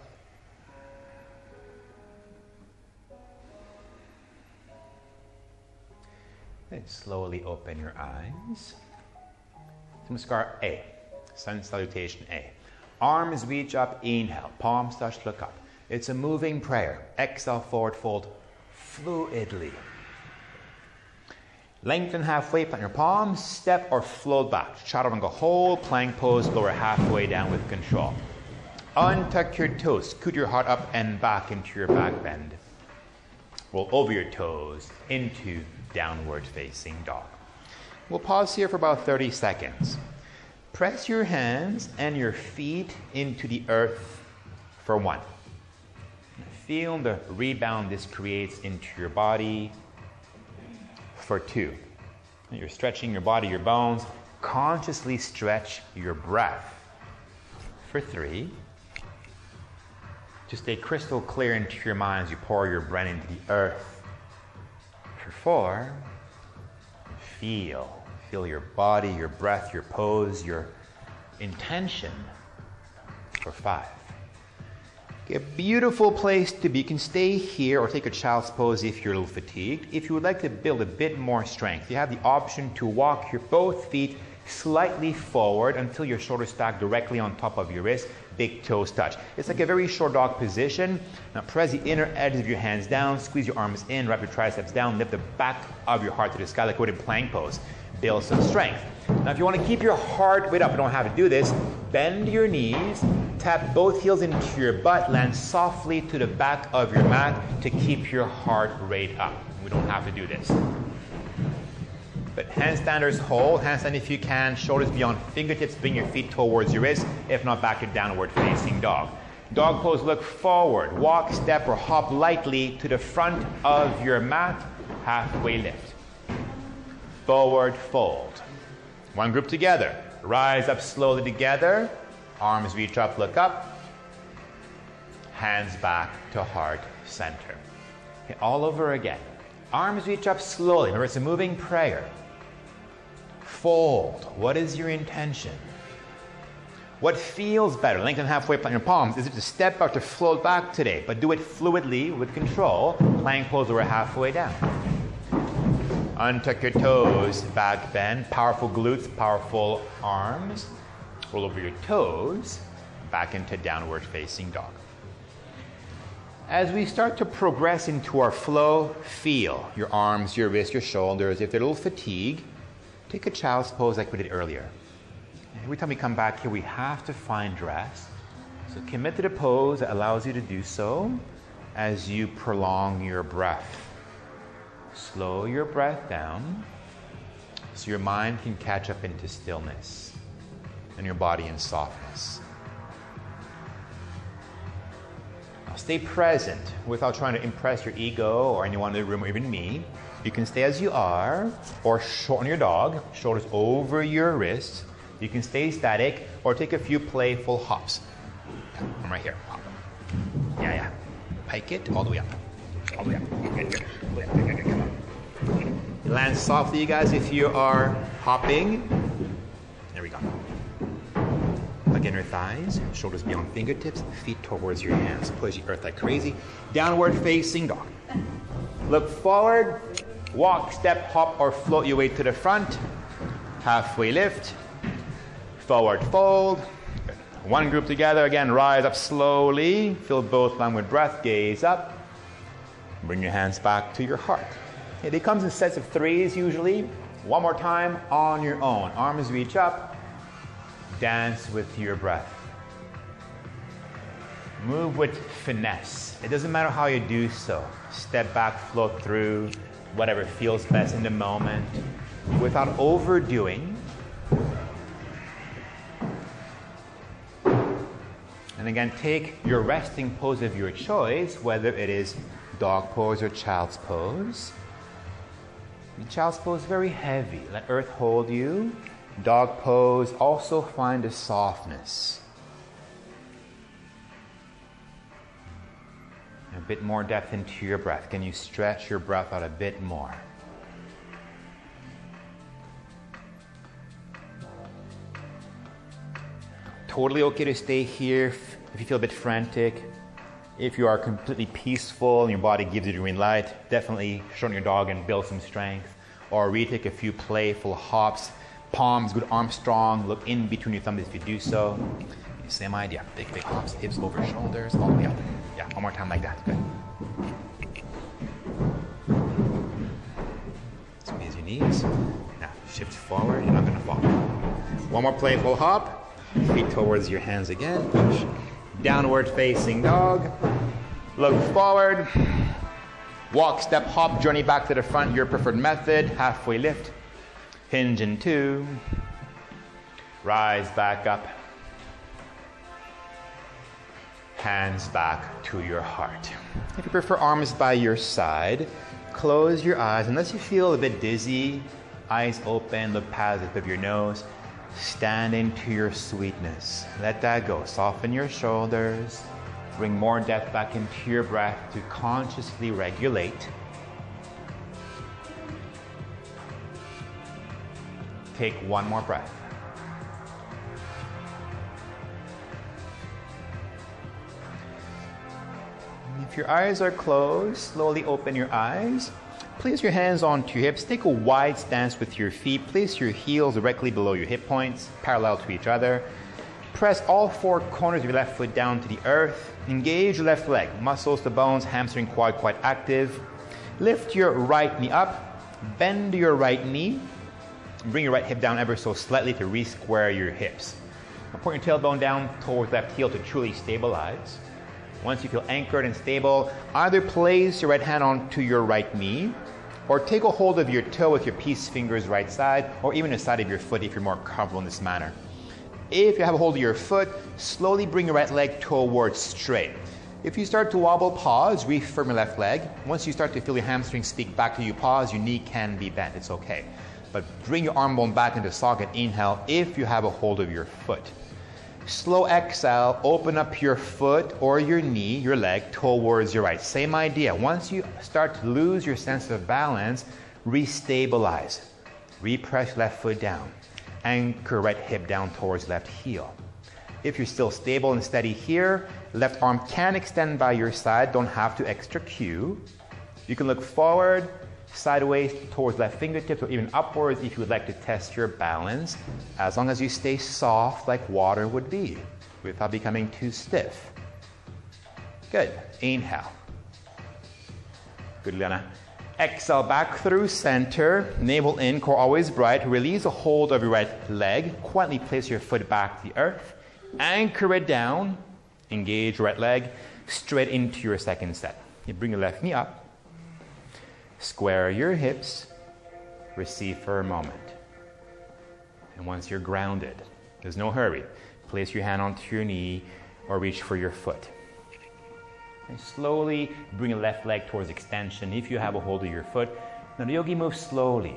Then slowly open your eyes. Namaskar A. Sun salutation A. Arms reach up, inhale. Palms touch, look up. It's a moving prayer. Exhale, forward fold fluidly. Lengthen halfway, plant your palms, step or float back. Chaturanga, hold, plank pose, lower halfway down with control. Untuck your toes, scoot your heart up and back into your back bend. Roll over your toes into downward facing dog. We'll pause here for about 30 seconds. Press your hands and your feet into the earth for 1. Feel the rebound this creates into your body for 2. You're stretching your body, your bones. Consciously stretch your breath for 3. To stay crystal clear into your mind as you pour your breath into the earth. For 4, feel your body, your breath, your pose, your intention. For 5. A beautiful place to be. You can stay here or take a child's pose if you're a little fatigued. If you would like to build a bit more strength, you have the option to walk your both feet slightly forward until your shoulders stack directly on top of your wrist, big toes touch. It's like a very short dog position. Now press the inner edges of your hands down, squeeze your arms in, wrap your triceps down, lift the back of your heart to the sky like we're in plank pose. Build some strength. Now if you want to keep your heart rate up, you don't have to do this, bend your knees, tap both heels into your butt, land softly to the back of your mat to keep your heart rate up. We don't have to do this. But handstanders hold. Handstand if you can. Shoulders beyond fingertips. Bring your feet towards your wrist. If not, back to downward facing dog. Dog pose, look forward. Walk, step, or hop lightly to the front of your mat. Halfway lift. Forward fold. One group together. Rise up slowly together. Arms reach up, look up. Hands back to heart center. Okay, all over again. Arms reach up slowly. Remember, it's a moving prayer. Fold. What is your intention? What feels better? Lengthen halfway, plant your palms. Is it to step or to float back today? But do it fluidly with control. Plank pose over halfway down. Untuck your toes, back bend. Powerful glutes, powerful arms. Roll over your toes, back into downward facing dog. As we start to progress into our flow, feel your arms, your wrists, your shoulders. If they're a little fatigued, take a child's pose like we did earlier. Every time we come back here, we have to find rest. So commit to the pose that allows you to do so as you prolong your breath. Slow your breath down so your mind can catch up into stillness and your body in softness. Now stay present without trying to impress your ego or anyone in the room or even me. You can stay as you are or shorten your dog, shoulders over your wrists. You can stay static or take a few playful hops. I'm right here. Hop. Yeah. Pike it all the way up. All the way up. Land softly, you guys, if you are hopping. There we go. Hug inner thighs, shoulders beyond fingertips, feet towards your hands. Push the earth like crazy. Downward facing dog. Look forward, walk, step, hop, or float your way to the front. Halfway lift. Forward fold. One group together. Again, rise up slowly. Fill both lungs with breath. Gaze up. Bring your hands back to your heart. It comes in sets of 3s usually. One more time on your own. Arms reach up. Dance with your breath. Move with finesse. It doesn't matter how you do so. Step back, float through, whatever feels best in the moment, without overdoing. And again, take your resting pose of your choice, whether it is dog pose or child's pose. The child's pose is very heavy. Let earth hold you. Dog pose, also find a softness. A bit more depth into your breath. Can you stretch your breath out a bit more? Totally okay to stay here if you feel a bit frantic. If you are completely peaceful and your body gives you the green light, definitely shorten your dog and build some strength. Or retake a few playful hops. Palms, good arms strong. Look in between your thumbs if you do so. Same idea. Big hops, hips over shoulders, all the way up. Yeah, one more time like that. Good. Squeeze your knees. Now shift forward. You're not going to fall. One more playful hop. Feet towards your hands again. Push. Downward facing dog. Look forward. Walk, step, hop, journey back to the front. Your preferred method. Halfway lift. Hinge in 2. Rise back up. Hands back to your heart. If you prefer arms by your side, close your eyes. Unless you feel a bit dizzy, eyes open, look past the tip of your nose. Stand into your sweetness. Let that go. Soften your shoulders. Bring more depth back into your breath to consciously regulate. Take one more breath. If your eyes are closed, slowly open your eyes. Place your hands onto your hips. Take a wide stance with your feet. Place your heels directly below your hip points, parallel to each other. Press all 4 corners of your left foot down to the earth. Engage your left leg. Muscles to bones, hamstring, quad quite active. Lift your right knee up. Bend your right knee. Bring your right hip down ever so slightly to re-square your hips. Now point your tailbone down towards left heel to truly stabilize. Once you feel anchored and stable, either place your right hand onto your right knee or take a hold of your toe with your peace fingers right side or even the side of your foot if you're more comfortable in this manner. If you have a hold of your foot, slowly bring your right leg towards straight. If you start to wobble, pause, refirm your left leg. Once you start to feel your hamstring speak back to you, pause, your knee can be bent, it's okay. But bring your arm bone back into socket, inhale if you have a hold of your foot. Slow exhale, open up your foot or your knee, your leg, towards your right. Same idea. Once you start to lose your sense of balance, restabilize. Repress left foot down. Anchor right hip down towards left heel. If you're still stable and steady here, left arm can extend by your side, don't have to extra cue. You can look forward, sideways towards left fingertips, or even upwards if you would like to test your balance, as long as you stay soft like water would be, without becoming too stiff. Good. Inhale. Good, Liana. Exhale back through center, navel in, core always bright. Release a hold of your right leg. Quietly place your foot back to the earth. Anchor it down. Engage your right leg straight into your second set. You bring your left knee up. Square your hips, receive for a moment. And once you're grounded, there's no hurry, place your hand onto your knee or reach for your foot. And slowly bring your left leg towards extension if you have a hold of your foot. Now the yogi moves slowly.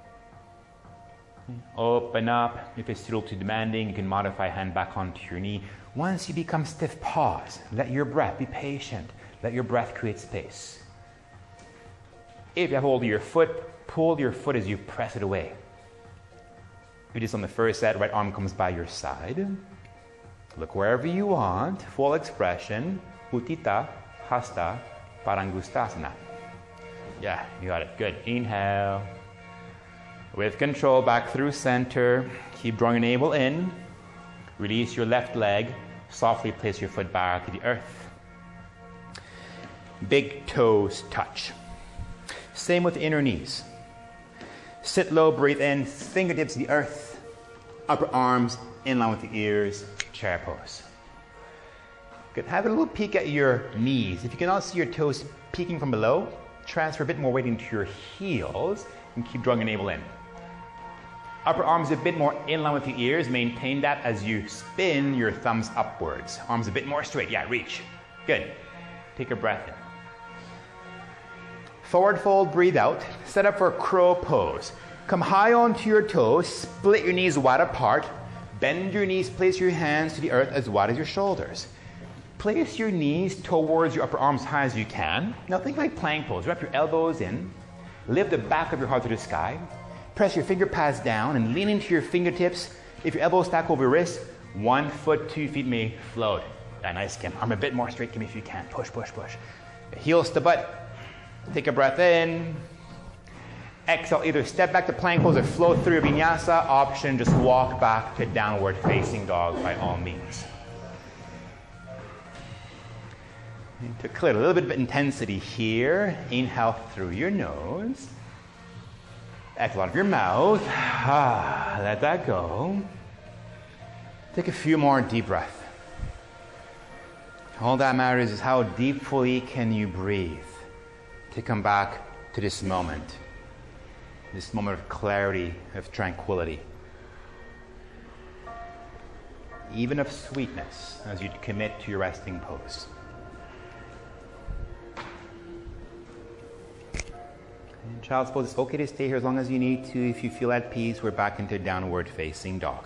Open up. If it's still too demanding, you can modify hand back onto your knee. Once you become stiff, pause. Let your breath, be patient. Let your breath create space. If you have hold of your foot, pull your foot as you press it away. If you do this on the first set, right arm comes by your side. Look wherever you want, full expression. Utthita, Hasta, Parangustasana. Yeah, you got it. Good. Inhale. With control, back through center. Keep drawing your navel in. Release your left leg. Softly place your foot back to the earth. Big toes touch. Same with the inner knees. Sit low, breathe in, fingertips to the earth, upper arms in line with the ears, chair pose. Good. Have a little peek at your knees. If you cannot see your toes peeking from below, transfer a bit more weight into your heels and keep drawing your navel in. Upper arms a bit more in line with your ears. Maintain that as you spin your thumbs upwards. Arms a bit more straight. Yeah, reach. Good. Take a breath in. Forward fold, breathe out. Set up for crow pose. Come high onto your toes, split your knees wide apart. Bend your knees, place your hands to the earth as wide as your shoulders. Place your knees towards your upper arms high as you can. Now think like plank pose. Wrap your elbows in. Lift the back of your heart to the sky. Press your finger pads down and lean into your fingertips. If your elbows stack over your wrists, 1 foot, 2 feet may float. Yeah, nice, Kim. Arm a bit more straight, Kim, if you can. Push, push, push. Heels to butt. Take a breath in. Exhale, either step back to plank pose or flow through your vinyasa. Option, just walk back to downward facing dog by all means. To clear a little bit of intensity here, inhale through your nose. Exhale out of your mouth. Let that go. Take a few more deep breaths. All that matters is how deeply can you breathe to come back to this moment of clarity, of tranquility, even of sweetness as you commit to your resting pose. In child's pose, it's okay to stay here as long as you need to. If you feel at peace, we're back into downward facing dog.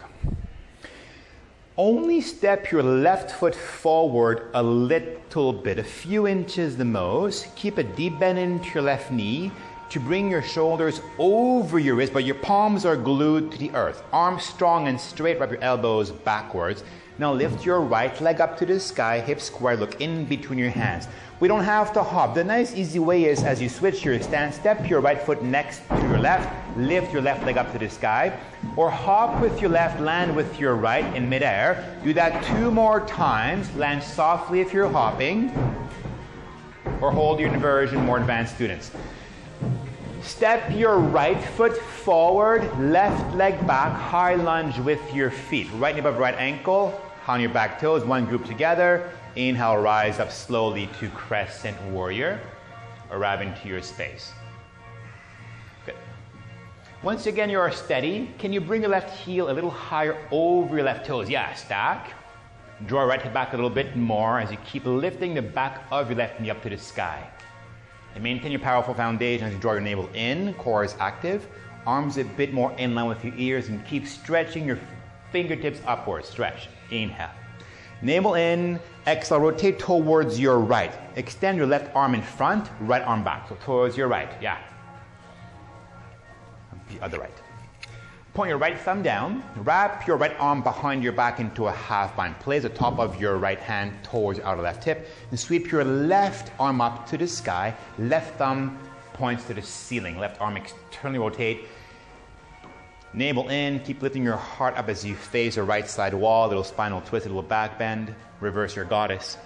Only step your left foot forward a little bit, a few inches the most. Keep a deep bend into your left knee to bring your shoulders over your wrist, but your palms are glued to the earth. Arms strong and straight, wrap your elbows backwards. Now lift your right leg up to the sky, hips square, look in between your hands. We don't have to hop. The nice easy way is as you switch your stance, step your right foot next to your left, lift your left leg up to the sky, or hop with your left, land with your right in midair. Do that 2 more times. Land softly if you're hopping, or hold your inversion, more advanced students. Step your right foot forward, left leg back, high lunge with your feet. Right knee above right ankle, on your back toes, one group together. Inhale, rise up slowly to crescent warrior. Arrive into your space. Good. Once again, you are steady. Can you bring your left heel a little higher over your left toes? Yeah, stack. Draw your right hip back a little bit more as you keep lifting the back of your left knee up to the sky. And maintain your powerful foundation as you draw your navel in, core is active, arms a bit more in line with your ears, and keep stretching your fingertips upwards. Stretch. Inhale. Navel in, exhale, rotate towards your right. Extend your left arm in front, right arm back. So towards your right, yeah. The other right. Point your right thumb down, wrap your right arm behind your back into a half bind. Place the top of your right hand towards your outer left hip, and sweep your left arm up to the sky. Left thumb points to the ceiling. Left arm externally rotate. Navel in, keep lifting your heart up as you face the right side wall. Little spinal twist, a little back bend. Reverse your goddess.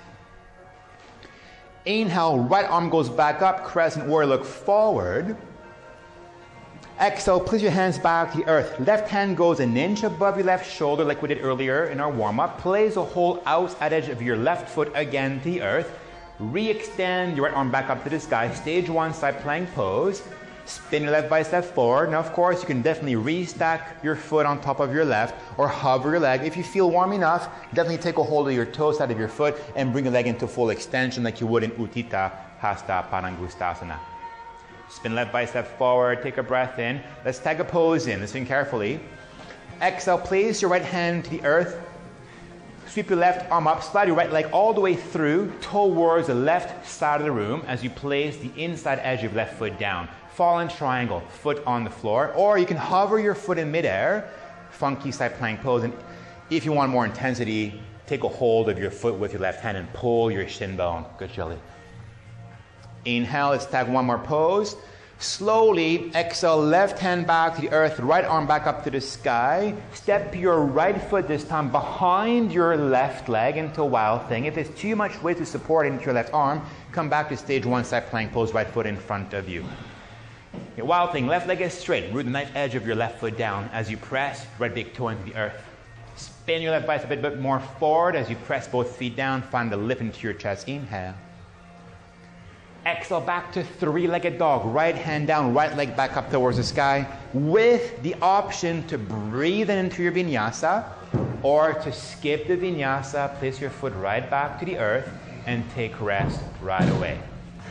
Inhale, right arm goes back up, crescent warrior, look forward. Exhale, place your hands back to the earth. Left hand goes an inch above your left shoulder like we did earlier in our warm-up. Place the whole outside edge of your left foot again to the earth. Re-extend your right arm back up to the sky. Stage 1 side plank pose. Spin your left bicep forward. Now, of course, you can definitely restack your foot on top of your left or hover your leg. If you feel warm enough, definitely take a hold of your toe side of your foot and bring your leg into full extension like you would in Utthita Hasta Padangusthasana. Spin left bicep forward, take a breath in. Let's tag a pose in, listen carefully. Exhale, place your right hand to the earth. Sweep your left arm up, slide your right leg all the way through towards the left side of the room as you place the inside edge of your left foot down. Fallen triangle, foot on the floor, or you can hover your foot in midair, funky side plank pose. And if you want more intensity, take a hold of your foot with your left hand and pull your shin bone. Good, Shelley. Inhale, let's tag one more pose. Slowly exhale, left hand back to the earth, right arm back up to the sky. Step your right foot this time behind your left leg into a wild thing. If there's too much weight to support into your left arm, come back to stage 1 side plank pose, right foot in front of you. Okay, wild thing, left leg is straight. Root the knife edge of your left foot down as you press right big toe into the earth. Spin your left bicep a bit more forward as you press both feet down. Find the lift into your chest. Inhale. Exhale back to three-legged dog. Right hand down, right leg back up towards the sky with the option to breathe into your vinyasa or to skip the vinyasa, place your foot right back to the earth and take rest right away.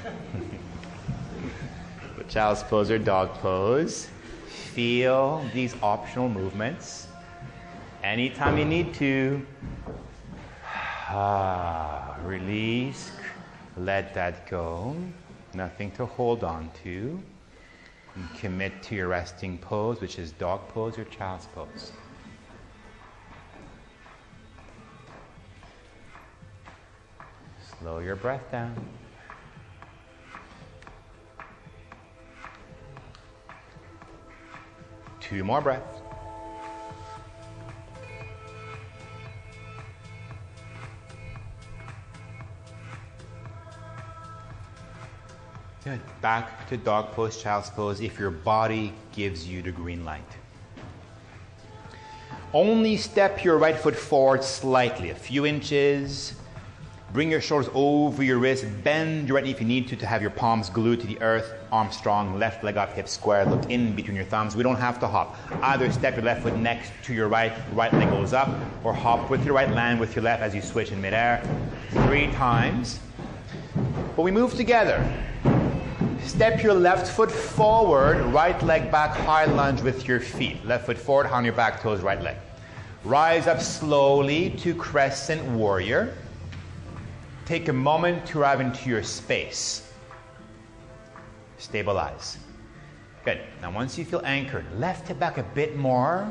Child's pose or dog pose. Feel these optional movements. Anytime you need to, release, let that go. Nothing to hold on to. And commit to your resting pose, which is dog pose or child's pose. Slow your breath down. Two more breaths. Good. Back to dog pose, child's pose if your body gives you the green light. Only step your right foot forward slightly, a few inches. Bring your shoulders over your wrists. Bend your right knee if you need to have your palms glued to the earth. Arms strong, left leg up, hips square. Look in between your thumbs. We don't have to hop. Either step your left foot next to your right leg goes up, or hop with your right, land with your left as you switch in midair. 3 times. But we move together. Step your left foot forward, right leg back, high lunge with your feet. Left foot forward, on your back toes, right leg. Rise up slowly to crescent warrior. Take a moment to arrive into your space. Stabilize. Good. Now once you feel anchored, left hip back a bit more.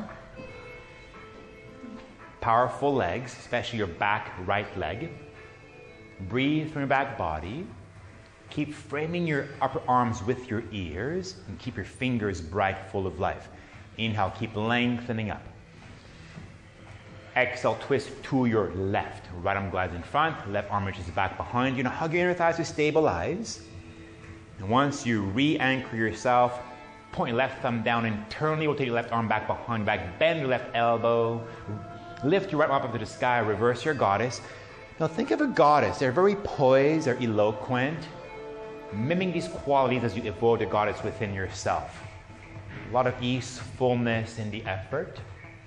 Powerful legs, especially your back right leg. Breathe from your back body. Keep framing your upper arms with your ears and keep your fingers bright, full of life. Inhale, keep lengthening up. Exhale, twist to your left. Right arm glides in front, left arm reaches back behind you. Now hug your inner thighs to stabilize. And once you re-anchor yourself, point your left thumb down internally, rotate your left arm back behind your back, bend your left elbow, lift your right arm up to the sky, reverse your goddess. Now think of a goddess. They're very poised, they're eloquent. Miming these qualities as you evoke the goddess within yourself. A lot of ease, fullness in the effort.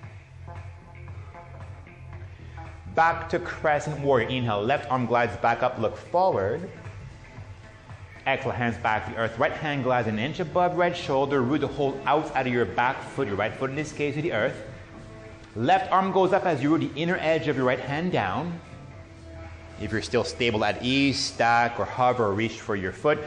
Back to crescent warrior. Inhale, left arm glides back up, look forward. Exhale, hands back to the earth. Right hand glides an inch above right shoulder. Root the whole out of your back foot, your right foot in this case, to the earth. Left arm goes up as you root the inner edge of your right hand down. If you're still stable at ease, stack or hover or reach for your foot.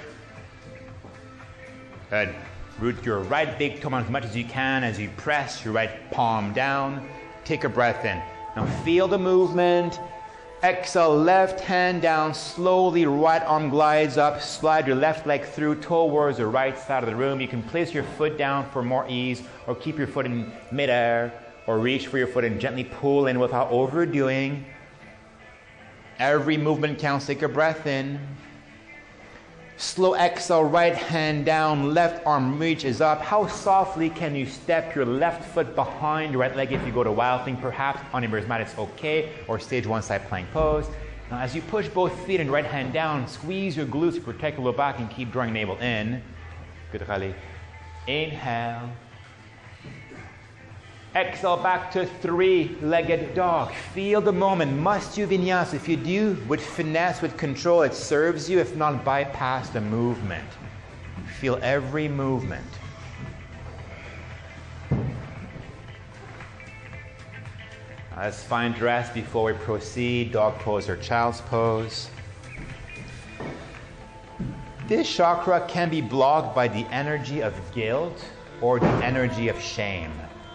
Good. Root your right big toe as much as you can as you press your right palm down. Take a breath in. Now feel the movement. Exhale, left hand down, slowly right arm glides up. Slide your left leg through towards the right side of the room. You can place your foot down for more ease or keep your foot in midair or reach for your foot and gently pull in without overdoing. Every movement counts. Take a breath in. Slow exhale, right hand down, left arm reaches up. How softly can you step your left foot behind your right leg if you go to wild thing? Perhaps on your mat it's okay, or stage 1 side plank pose. Now as you push both feet and right hand down, squeeze your glutes to protect your low back and keep drawing navel in. Good, Khali. Inhale. Exhale back to three-legged dog. Feel the moment. Must you vinyasa? If you do, with finesse, with control, it serves you. If not, bypass the movement. Feel every movement. Let's find rest before we proceed. Dog pose or child's pose. This chakra can be blocked by the energy of guilt or the energy of shame.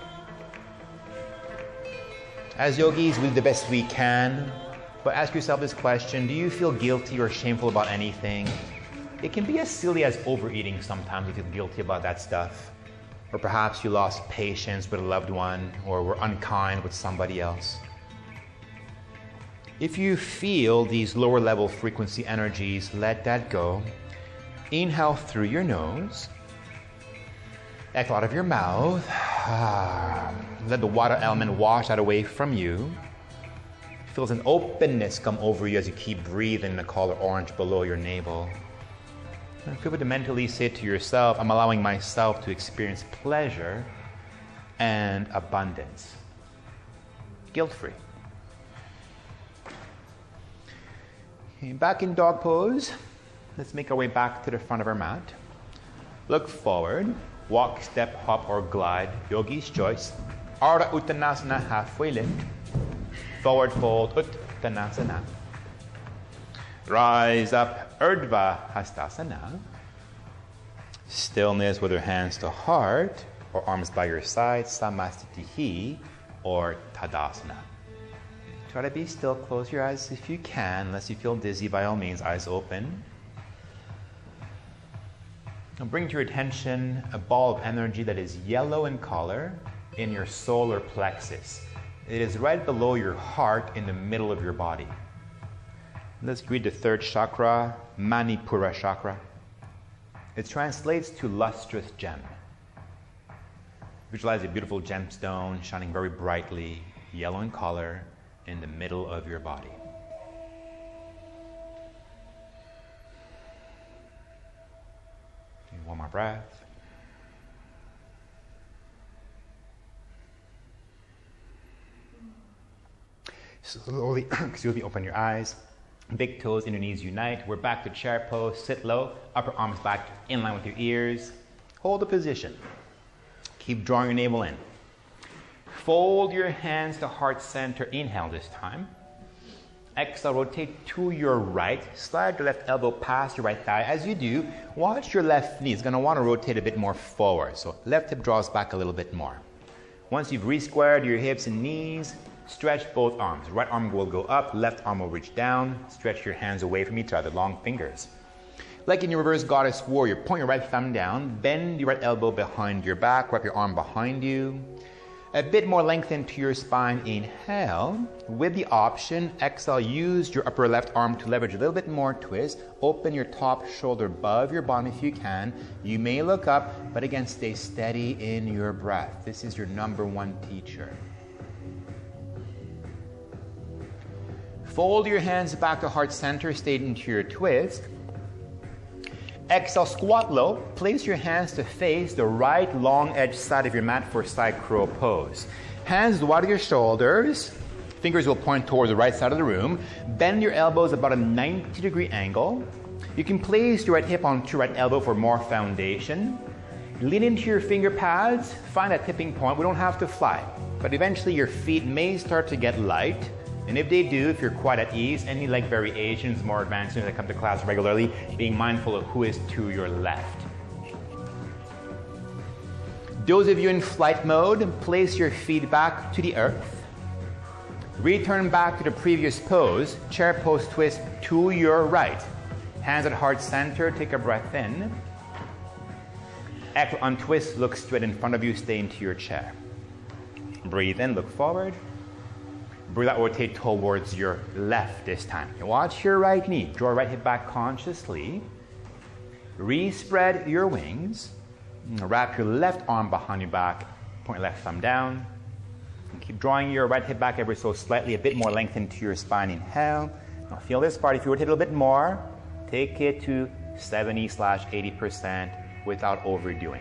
As yogis, we do the best we can, but ask yourself this question: do you feel guilty or shameful about anything? It can be as silly as overeating sometimes. You feel guilty about that stuff. Or perhaps you lost patience with a loved one, or were unkind with somebody else. If you feel these lower level frequency energies, let that go. Inhale through your nose. Exhale out of your mouth. Let the water element wash that away from you. Feels an openness come over you as you keep breathing the color orange below your navel. And feel free to mentally say to yourself, I'm allowing myself to experience pleasure and abundance. Guilt-free. Okay, back in dog pose. Let's make our way back to the front of our mat. Look forward. Walk, step, hop, or glide. Yogi's choice. Ardha Uttanasana, halfway lift. Forward fold, Uttanasana. Rise up, Urdhva Hastasana. Stillness with your hands to heart or arms by your side, Samastitihi or Tadasana. Try to be still, close your eyes if you can, unless you feel dizzy, by all means, eyes open. Now bring to your attention a ball of energy that is yellow in color in your solar plexus. It is right below your heart in the middle of your body. Let's read the third chakra, Manipura chakra. It translates to lustrous gem. Visualize a beautiful gemstone shining very brightly, yellow in color, in the middle of your body. One more breath. Slowly, open your eyes. Big toes, inner knees unite. We're back to chair pose. Sit low. Upper arms back in line with your ears. Hold the position. Keep drawing your navel in. Fold your hands to heart center. Inhale this time. Exhale, rotate to your right. Slide your left elbow past your right thigh. As you do, watch your left knee. It's going to want to rotate a bit more forward. So left hip draws back a little bit more. Once you've re-squared your hips and knees, stretch both arms. Right arm will go up, left arm will reach down. Stretch your hands away from each other, long fingers. Like in your reverse goddess warrior, point your right thumb down, bend your right elbow behind your back, wrap your arm behind you. A bit more length into your spine, inhale. With the option, exhale, use your upper left arm to leverage a little bit more twist. Open your top shoulder above your bottom if you can. You may look up, but again, stay steady in your breath. This is your number one teacher. Fold your hands back to heart center, stay into your twist. Exhale, squat low. Place your hands to face the right long edge side of your mat for side crow pose. Hands wide of your shoulders. Fingers will point towards the right side of the room. Bend your elbows about a 90-degree angle. You can place your right hip onto your right elbow for more foundation. Lean into your finger pads. Find that tipping point. We don't have to fly, but eventually your feet may start to get light. And if they do, if you're quite at ease, any leg variations, more advanced students that come to class regularly, being mindful of who is to your left. Those of you in flight mode, place your feet back to the earth. Return back to the previous pose, chair pose twist to your right. Hands at heart center, take a breath in. Exhale, untwist, look straight in front of you, stay into your chair. Breathe in, look forward. Breathe out, rotate towards your left this time. Watch your right knee. Draw right hip back consciously. Re-spread your wings. Wrap your left arm behind your back. Point your left thumb down. And keep drawing your right hip back ever so slightly. A bit more length into your spine. Inhale. Now feel this part. If you rotate a little bit more, take it to 70/80% without overdoing.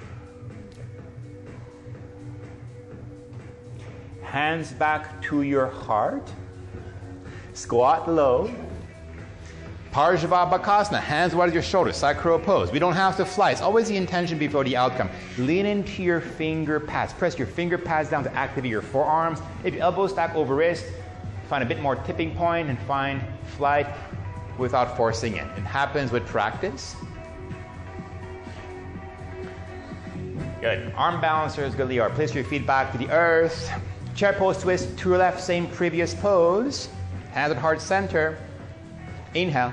Hands back to your heart. Squat low. Parshvabhakasana, hands wide of your shoulders, side crow pose. We don't have to fly. It's always the intention before the outcome. Lean into your finger pads. Press your finger pads down to activate your forearms. If your elbows stack over wrist, find a bit more tipping point and find flight without forcing it. It happens with practice. Good. Arm balancers, good Leo. Place your feet back to the earth. Chair pose twist to your left, same previous pose. Hands at heart center. Inhale.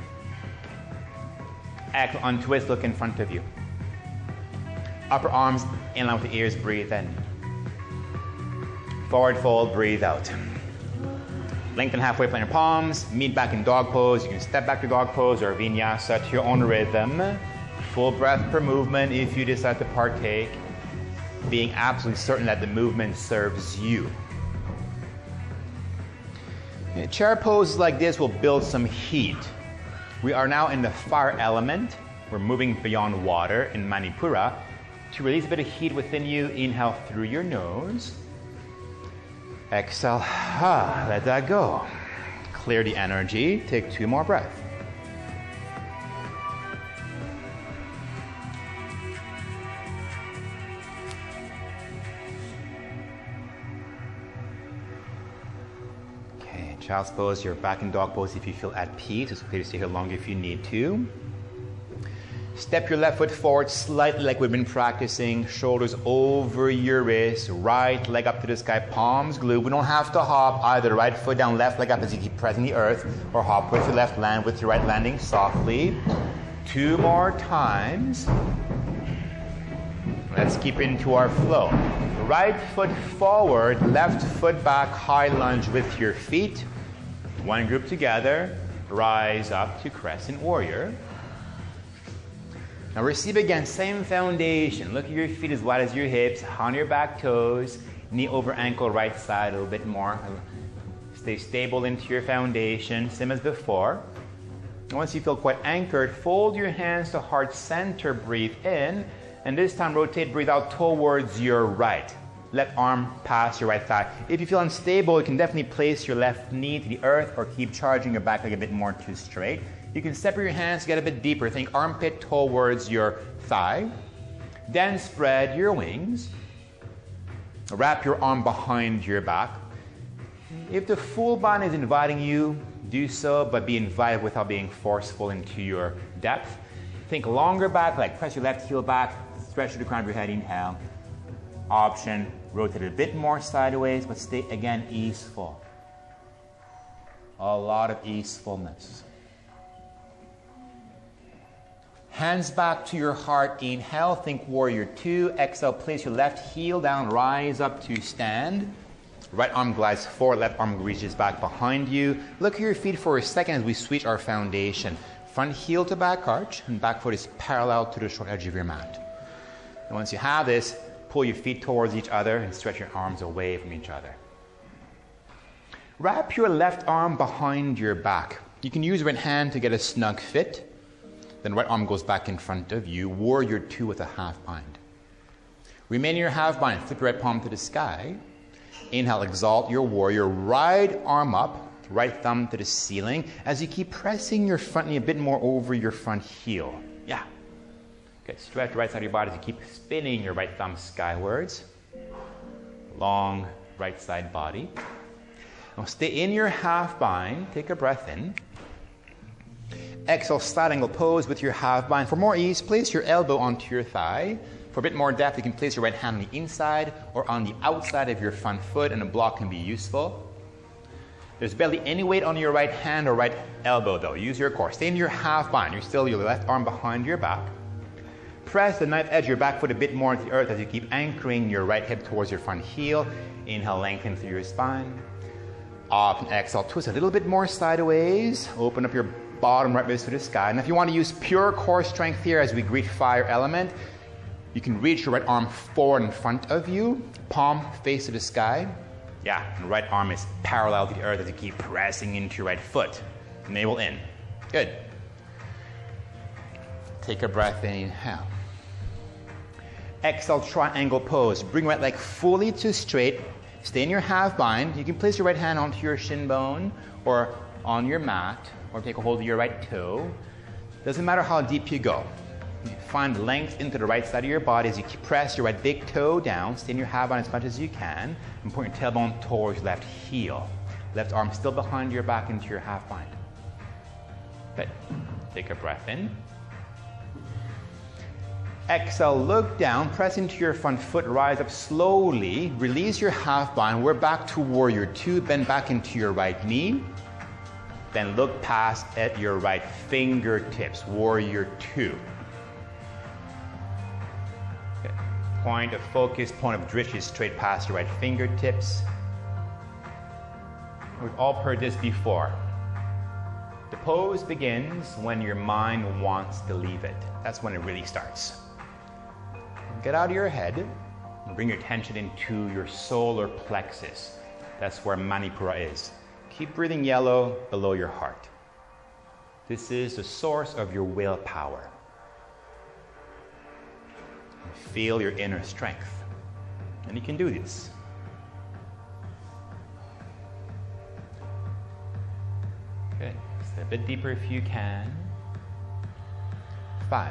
Exhale, untwist, look in front of you. Upper arms in line with the ears, breathe in. Forward fold, breathe out. Lengthen halfway, plant your palms. Meet back in dog pose. You can step back to dog pose or vinyasa to your own rhythm. Full breath per movement if you decide to partake, being absolutely certain that the movement serves you. Chair poses like this will build some heat. We are now in the fire element. We're moving beyond water in Manipura. To release a bit of heat within you, inhale through your nose. Exhale, let that go. Clear the energy. Take 2 more breaths. Okay, child's pose. You're back in dog pose if you feel at peace. It's okay to stay here longer if you need to. Step your left foot forward slightly like we've been practicing. Shoulders over your wrist. Right leg up to the sky. Palms glued. We don't have to hop. Either right foot down, left leg up as you keep pressing the earth. Or hop with your left, land with your right, landing softly. 2 more times. Let's keep into our flow. Right foot forward. Left foot back. High lunge with your feet. One group together. Rise up to crescent warrior. Now receive again, same foundation. Look at your feet as wide as your hips, on your back toes, knee over ankle, right side a little bit more. Stay stable into your foundation, same as before. And once you feel quite anchored, fold your hands to heart center, breathe in, and this time rotate, breathe out towards your right. Left arm past your right thigh. If you feel unstable, you can definitely place your left knee to the earth or keep charging your back leg a bit more to straight. You can separate your hands to get a bit deeper. Think armpit towards your thigh. Then spread your wings. Wrap your arm behind your back. If the full body is inviting you, do so, but be invited without being forceful into your depth. Think longer back leg. Press your left heel back. Stretch to the crown of your head. Inhale. Option, rotate a bit more sideways, but stay again easeful. A lot of easefulness. Hands back to your heart. Inhale, think warrior 2. Exhale, place your left heel down, rise up to stand. Right arm glides forward, left arm reaches back behind you. Look at your feet for a second as we switch our foundation. Front heel to back arch, and back foot is parallel to the short edge of your mat. And once you have this, pull your feet towards each other and stretch your arms away from each other. Wrap your left arm behind your back. You can use your right hand to get a snug fit. Then right arm goes back in front of you. Warrior 2 with a half bind. Remain in your half bind. Flip your right palm to the sky. Inhale, exalt your warrior. Right arm up. Right thumb to the ceiling. As you keep pressing your front knee a bit more over your front heel. Yeah. Okay, stretch the right side of your body as you keep spinning your right thumb skywards. Long right side body. Now stay in your half bind. Take a breath in. Exhale, side angle pose with your half bind. For more ease, place your elbow onto your thigh. For a bit more depth, you can place your right hand on the inside or on the outside of your front foot, and a block can be useful. There's barely any weight on your right hand or right elbow though. Use your core. Stay in your half bind. You're still your left arm behind your back. Press the knife edge of your back foot a bit more into the earth as you keep anchoring your right hip towards your front heel. Inhale, lengthen through your spine. Up and exhale, twist a little bit more sideways. Open up your bottom right wrist to the sky. And if you want to use pure core strength here as we greet fire element, you can reach your right arm forward in front of you, palm face to the sky. Yeah, and right arm is parallel to the earth as you keep pressing into your right foot. Navel in. Good. Take a breath in, inhale. Exhale, triangle pose. Bring right leg fully to straight. Stay in your half bind. You can place your right hand onto your shin bone or on your mat, or take a hold of your right toe. Doesn't matter how deep you go. You find length into the right side of your body as you press your right big toe down. Stay in your half bind as much as you can, and point your tailbone towards your left heel. Left arm still behind your back into your half bind. Good. Take a breath in. Exhale, look down, press into your front foot, rise up slowly, release your half bind. We're back to warrior 2, bend back into your right knee. Then look past at your right fingertips, warrior 2. Okay. Point of focus, point of drishti is straight past your right fingertips. We've all heard this before. The pose begins when your mind wants to leave it. That's when it really starts. Get out of your head and bring your attention into your solar plexus. That's where Manipura is. Keep breathing yellow below your heart. This is the source of your willpower. Feel your inner strength. And you can do this. Good. Step a bit deeper if you can. 5,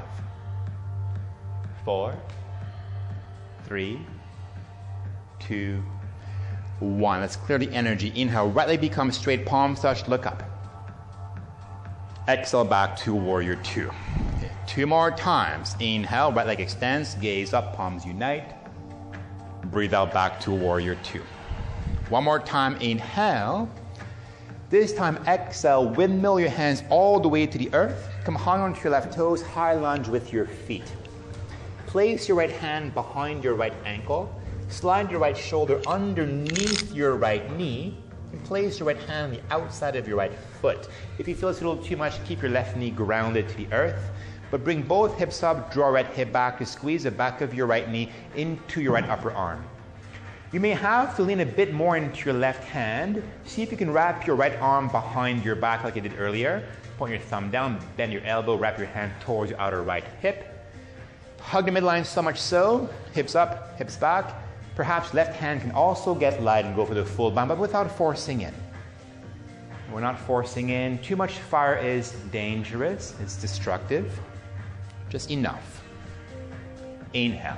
4, 3, 2, 1. Let's clear the energy. Inhale, right leg becomes straight, palms touch, look up. Exhale back to warrior 2. Okay. 2 more times. Inhale, right leg extends, gaze up, palms unite. Breathe out back to warrior 2. 1 more time. Inhale. This time exhale, windmill your hands all the way to the earth. Come hang onto your left toes, high lunge with your feet. Place your right hand behind your right ankle. Slide your right shoulder underneath your right knee. And place your right hand on the outside of your right foot. If you feel it's a little too much, keep your left knee grounded to the earth. But bring both hips up, draw right hip back to squeeze the back of your right knee into your right upper arm. You may have to lean a bit more into your left hand. See if you can wrap your right arm behind your back like I did earlier. Point your thumb down, bend your elbow, wrap your hand towards your outer right hip. Hug the midline so much so, hips up, hips back. Perhaps left hand can also get light and go for the full bound, but without forcing in. We're not forcing in. Too much fire is dangerous, it's destructive. Just enough. Inhale.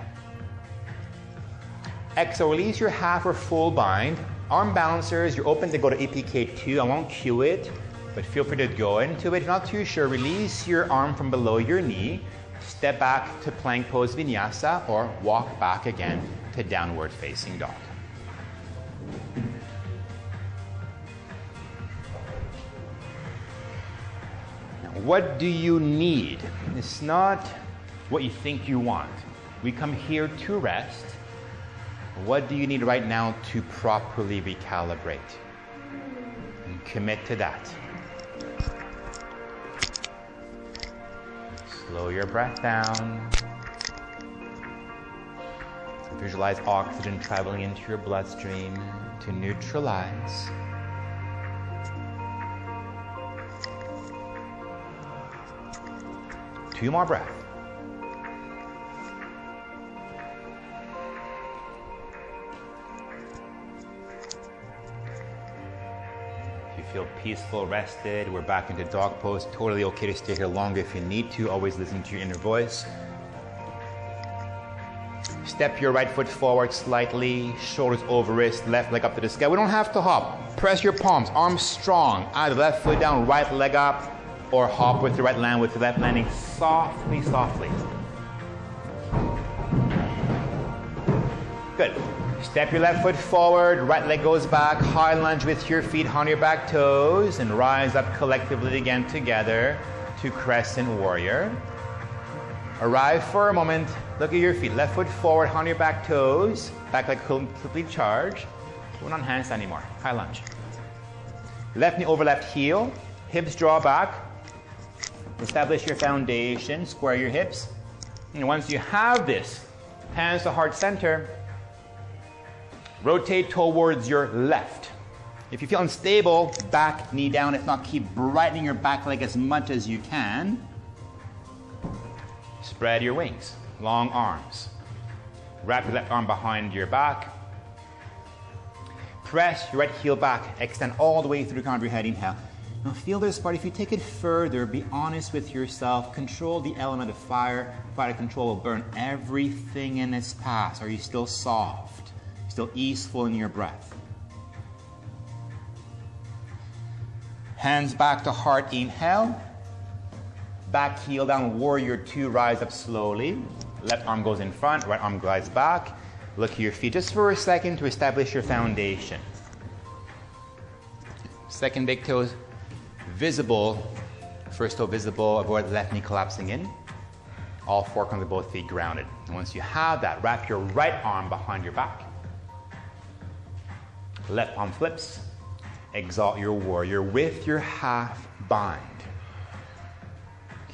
Exhale, release your half or full bind. Arm balancers, you're open to go to APK2. I won't cue it, but feel free to go into it. If you're not too sure, release your arm from below your knee. Step back to plank pose vinyasa or walk back again to downward facing dog. Now, what do you need? It's not what you think you want. We come here to rest. What do you need right now to properly recalibrate? And commit to that. Slow your breath down. Visualize oxygen traveling into your bloodstream to neutralize. Two more breaths. Feel peaceful, rested. We're back into dog pose. Totally okay to stay here longer if you need to. Always listen to your inner voice. Step your right foot forward slightly, shoulders over wrist, left leg up to the sky. We don't have to hop. Press your palms, arms strong. Either left foot down, right leg up, or hop with the right land with the left landing softly, softly. Good. Step your left foot forward, right leg goes back, high lunge with your feet on your back toes, and rise up collectively again together to crescent warrior. Arrive for a moment, look at your feet, left foot forward on your back toes, back leg completely charged. We're not hands anymore, high lunge. Left knee over left heel, hips draw back, establish your foundation, square your hips. And once you have this, hands to heart center, rotate towards your left. If you feel unstable, back, knee down. If not, keep brightening your back leg as much as you can. Spread your wings, long arms. Wrap your left arm behind your back. Press your right heel back. Extend all the way through the crown of your head. Inhale. Now feel this part. If you take it further, be honest with yourself. Control the element of fire. Fire to control will burn everything in its path. Are you still soft? Still easeful in your breath? Hands back to heart. Inhale. Back heel down, warrior two, rise up slowly. Left arm goes in front, right arm glides back. Look at your feet just for a second to establish your foundation. Second big toe visible. First toe visible, avoid left knee collapsing in. All four comes to both feet grounded. And once you have that, wrap your right arm behind your back. Left palm flips. Exalt your warrior with your half bind.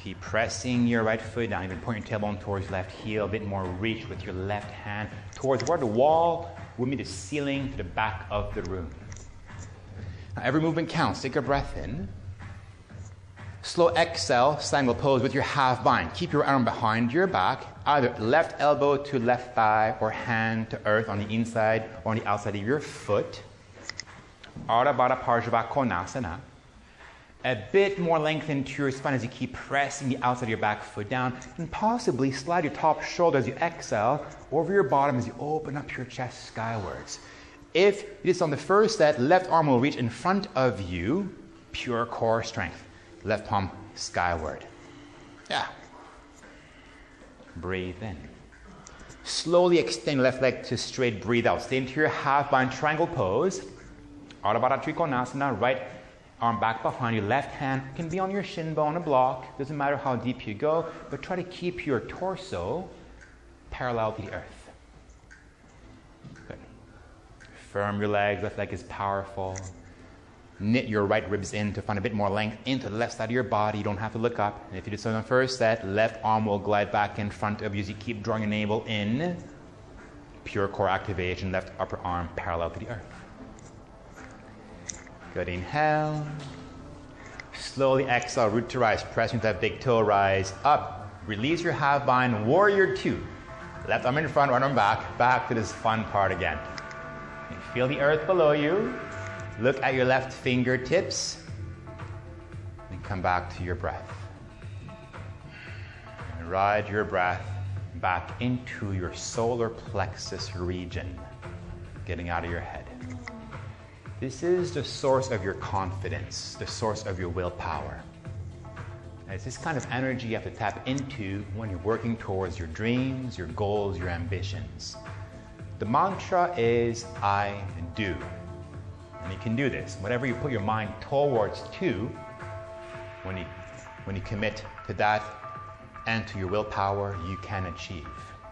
Keep pressing your right foot down, even point your tailbone towards your left heel, a bit more reach with your left hand towards where the wall would meet the ceiling to the back of the room. Now every movement counts. Take a breath in. Slow exhale, triangle pose with your half bind. Keep your arm behind your back, either left elbow to left thigh or hand to earth on the inside or on the outside of your foot. Ardha Baddha Parshva Konasana. A bit more length into your spine as you keep pressing the outside of your back foot down, and possibly slide your top shoulder as you exhale over your bottom as you open up your chest skywards. If it is on the first set, left arm will reach in front of you, pure core strength. Left palm skyward. Yeah. Breathe in. Slowly extend left leg to straight. Breathe out. Stay into your half bind triangle pose. Ardha Baddha Trikonasana. Right arm back behind you. Left hand can be on your shin bone, a block. Doesn't matter how deep you go, but try to keep your torso parallel to the earth. Good. Firm your legs. Left leg is powerful. Knit your right ribs in to find a bit more length into the left side of your body. You don't have to look up. And if you do so in the first set, left arm will glide back in front of you as you keep drawing your navel in. Pure core activation, left upper arm parallel to the earth. Good, inhale. Slowly exhale, root to rise. Press into that big toe, rise up. Release your half bind, warrior two. Left arm in front, right arm back. Back to this fun part again. You feel the earth below you. Look at your left fingertips and come back to your breath. And ride your breath back into your solar plexus region, getting out of your head. This is the source of your confidence, the source of your willpower. And it's this kind of energy you have to tap into when you're working towards your dreams, your goals, your ambitions. The mantra is I do. And you can do this. Whatever you put your mind towards to, when you commit to that and to your willpower, you can achieve.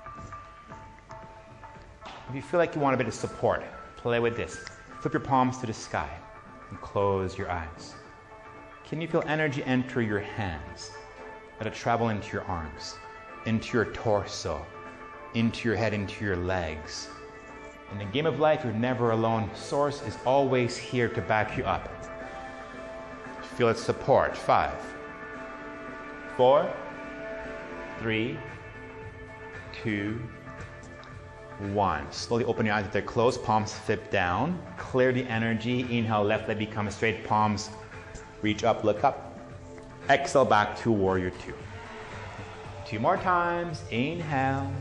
If you feel like you want a bit of support, play with this. Flip your palms to the sky and close your eyes. Can you feel energy enter your hands? Let it travel into your arms, into your torso, into your head, into your legs. In the game of life, you're never alone. Source is always here to back you up. Feel its support. 5, 4, 3, 2, 1. Slowly open your eyes with their closed, palms flip down. Clear the energy. Inhale, left leg becomes straight, palms reach up, look up. Exhale back to warrior two. 2 more times. Inhale.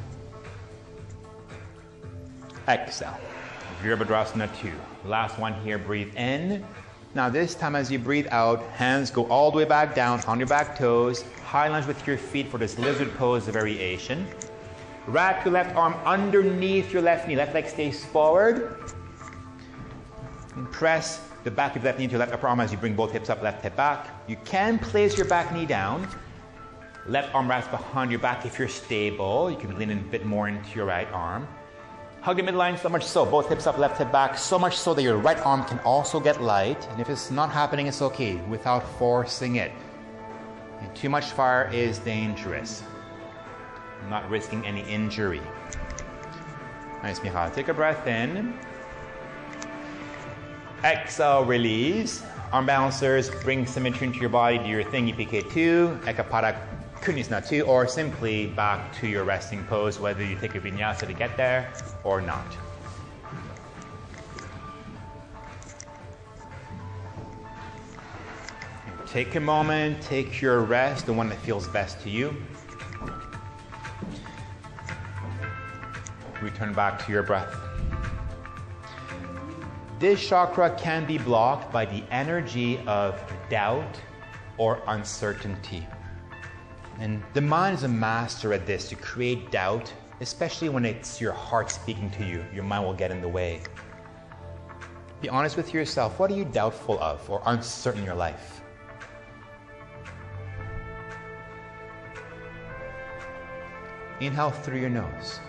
Exhale. Virabhadrasana 2. Last one here, breathe in. Now this time as you breathe out, hands go all the way back down on your back toes. High lunge with your feet for this lizard pose variation. Wrap your left arm underneath your left knee. Left leg stays forward. And press the back of the left knee into your left upper arm as you bring both hips up, left hip back. You can place your back knee down. Left arm wraps behind your back if you're stable. You can lean in a bit more into your right arm. Hug the midline so much so, both hips up, left hip back, so much so that your right arm can also get light. And if it's not happening, it's okay, without forcing it. And too much fire is dangerous. I'm not risking any injury. Nice, Michal. Take a breath in. Exhale, release. Arm balancers, bring symmetry into your body, do your thing, EPK2, Ekapada Kunasana 2, or simply back to your resting pose, whether you take a vinyasa to get there or not. Take a moment, take your rest, the one that feels best to you. Return back to your breath. This chakra can be blocked by the energy of doubt or uncertainty. And the mind is a master at this, to create doubt, especially when it's your heart speaking to you. Your mind will get in the way. Be honest with yourself. What are you doubtful of or uncertain in your life? Inhale through your nose.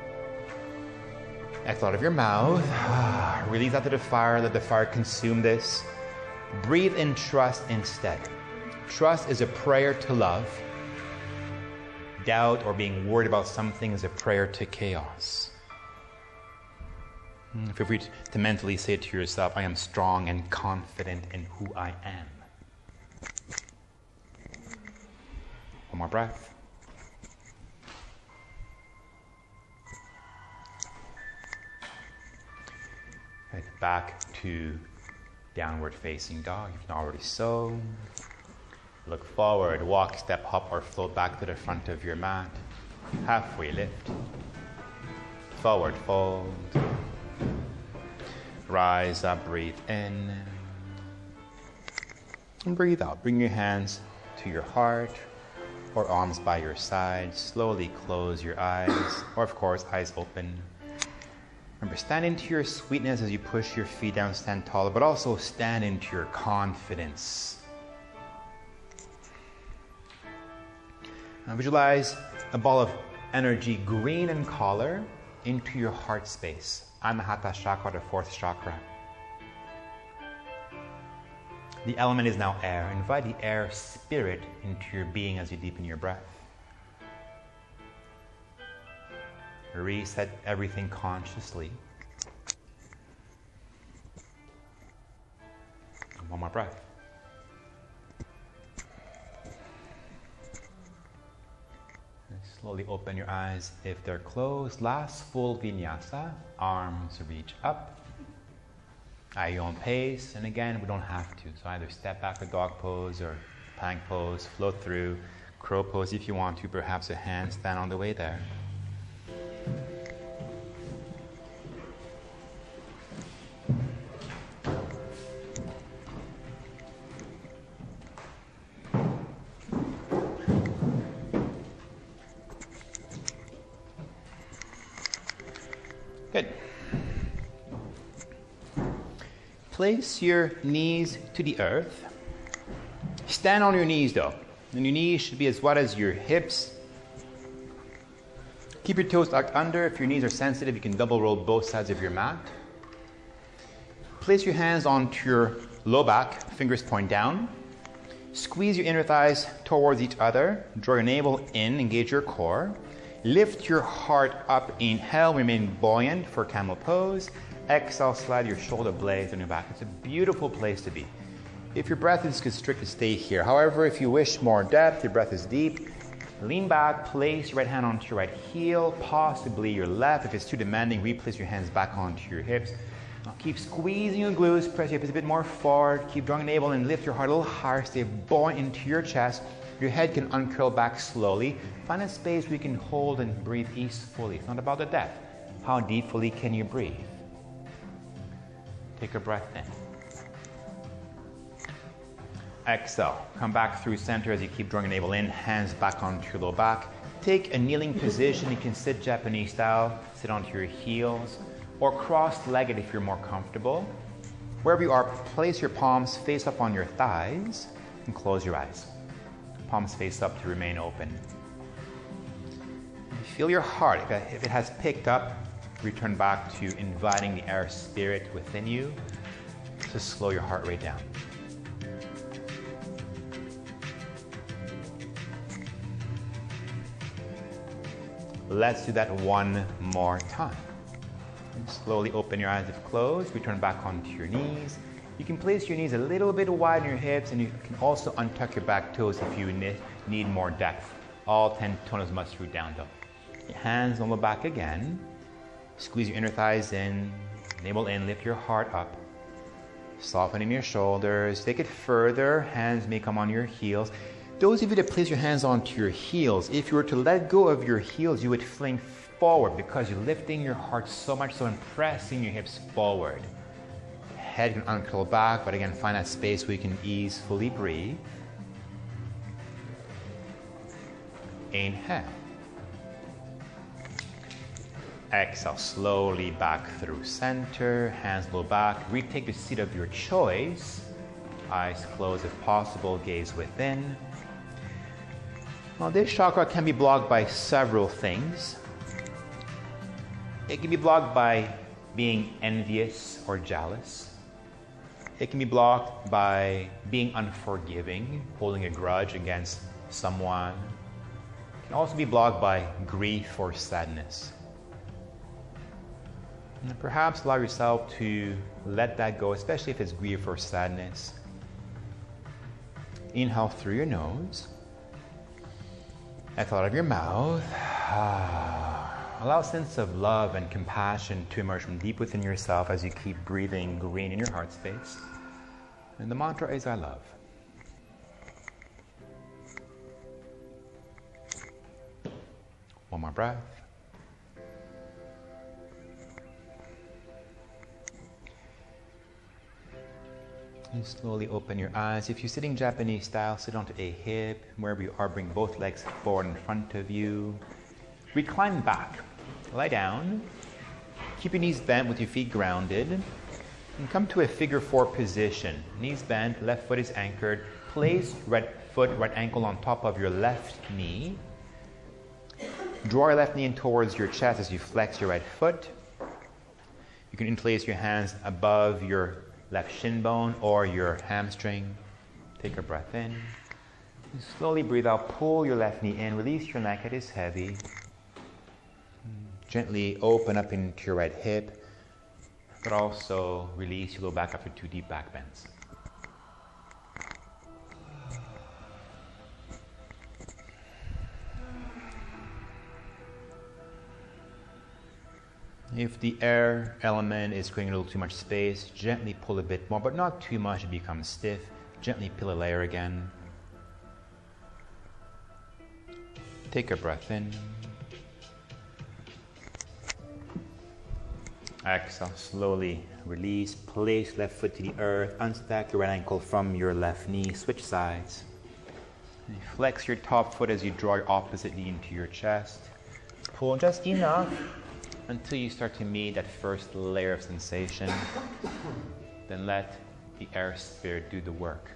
Exhale out of your mouth. Release out to the fire. Let the fire consume this. Breathe in trust instead. Trust is a prayer to love. doubt or being worried about something is a prayer to chaos. Feel free to mentally say to yourself, I am strong and confident in who I am. One more breath. Right, back to downward facing dog, if not already so. Look forward, walk, step, hop, or float back to the front of your mat. Halfway lift. Forward fold. Rise up, breathe in. And breathe out. Bring your hands to your heart or arms by your side. Slowly close your eyes, or of course, eyes open. Remember, stand into your sweetness as you push your feet down, stand taller, but also stand into your confidence. Now visualize a ball of energy, green in color, into your heart space. Anahata chakra, the fourth chakra. The element is now air. Invite the air spirit into your being as you deepen your breath. Reset everything consciously. One more breath. And slowly open your eyes if they're closed. Last full vinyasa. Arms reach up. At your own pace. And again, we don't have to. So either step back to dog pose or plank pose. Float through. Crow pose if you want to. Perhaps a handstand on the way there. Good. Place your knees to the earth. Stand on your knees though. And your knees should be as wide as your hips. Keep your toes tucked under. If your knees are sensitive, you can double roll both sides of your mat. Place your hands onto your low back, fingers point down. Squeeze your inner thighs towards each other. Draw your navel in, engage your core. Lift your heart up, inhale, remain buoyant for camel pose. Exhale, slide your shoulder blades on your back. It's a beautiful place to be. If your breath is constricted, stay here. However, if you wish more depth, your breath is deep, lean back, place your right hand onto your right heel, possibly your left. If it's too demanding, replace your hands back onto your hips. Now keep squeezing your glutes, press your hips a bit more forward, keep drawing the navel and lift your heart a little higher, stay buoyant into your chest. Your head can uncurl back slowly. Find a space where you can hold and breathe easefully. It's not about the depth. How deeply can you breathe? Take a breath in. Exhale. Come back through center as you keep drawing the navel in. Hands back onto your low back. Take a kneeling position. You can sit Japanese style. Sit onto your heels. Or cross-legged if you're more comfortable. Wherever you are, place your palms face up on your thighs and close your eyes. Palms face up to remain open. Feel your heart. If it has picked up, return back to inviting the air spirit within you to slow your heart rate down. Let's do that one more time. And slowly open your eyes if closed. Return back onto your knees. You can place your knees a little bit wide in your hips, and you can also untuck your back toes if you need more depth. All 10 toes must root down though. Your hands on the back again. Squeeze your inner thighs in, navel in, lift your heart up. Softening your shoulders. Take it further. Hands may come on your heels. Those of you that place your hands onto your heels, if you were to let go of your heels, you would fling forward because you're lifting your heart so much so and pressing your hips forward. Head can uncurl back, but again, find that space where you can easily breathe. Inhale. Exhale, slowly back through center, hands low back. Retake the seat of your choice. Eyes closed if possible, gaze within. Now this chakra can be blocked by several things. It can be blocked by being envious or jealous. It can be blocked by being unforgiving, holding a grudge against someone. It can also be blocked by grief or sadness. And perhaps allow yourself to let that go, especially if it's grief or sadness. Inhale through your nose. Exhale out of your mouth. Allow a sense of love and compassion to emerge from deep within yourself as you keep breathing green in your heart space. And the mantra is I love. One more breath. And slowly open your eyes. If you're sitting Japanese style, sit onto a hip. Wherever you are, bring both legs forward in front of you. Recline back. Lie down. Keep your knees bent with your feet grounded. And come to a figure 4 position. Knees bent, left foot is anchored. Place right foot, right ankle on top of your left knee. Draw your left knee in towards your chest as you flex your right foot. You can interlace your hands above your left shin bone or your hamstring. Take a breath in. And slowly breathe out. Pull your left knee in. Release your neck. It is heavy. Gently open up into your right hip, but also release your low back after 2 deep back bends. If the air element is creating a little too much space, gently pull a bit more, but not too much it becomes stiff. Gently peel a layer again. Take a breath in. Exhale, slowly release. Place left foot to the earth. Unstack your right ankle from your left knee. Switch sides. And flex your top foot as you draw your opposite knee into your chest. Pull just enough until you start to meet that first layer of sensation. Then let the air spirit do the work.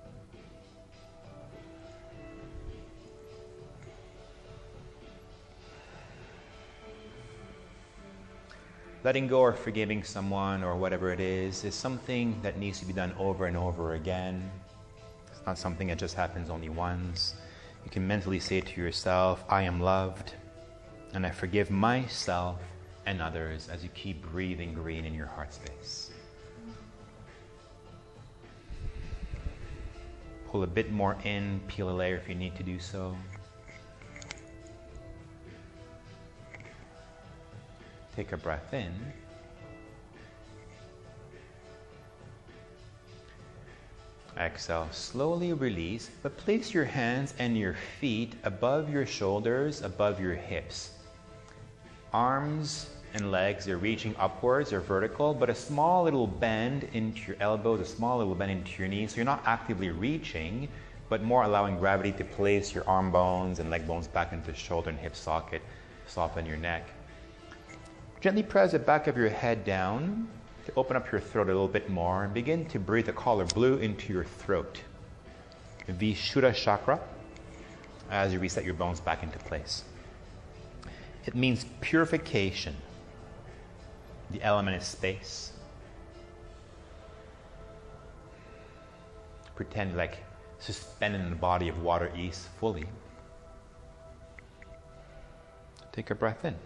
Letting go or forgiving someone or whatever it is something that needs to be done over and over again. It's not something that just happens only once. You can mentally say to yourself, I am loved, and I forgive myself and others as you keep breathing green in your heart space. Pull a bit more in, peel a layer if you need to do so. Take a breath in. Exhale, slowly release, but place your hands and your feet above your shoulders, above your hips. Arms and legs are reaching upwards or vertical, but a small little bend into your elbows, a small little bend into your knees. So you're not actively reaching, but more allowing gravity to place your arm bones and leg bones back into the shoulder and hip socket, soften your neck. Gently press the back of your head down to open up your throat a little bit more and begin to breathe the color blue into your throat. Vishuddha chakra, as you reset your bones back into place. It means purification. The element is space. Pretend like suspended in the body of water is fully. Take a breath in.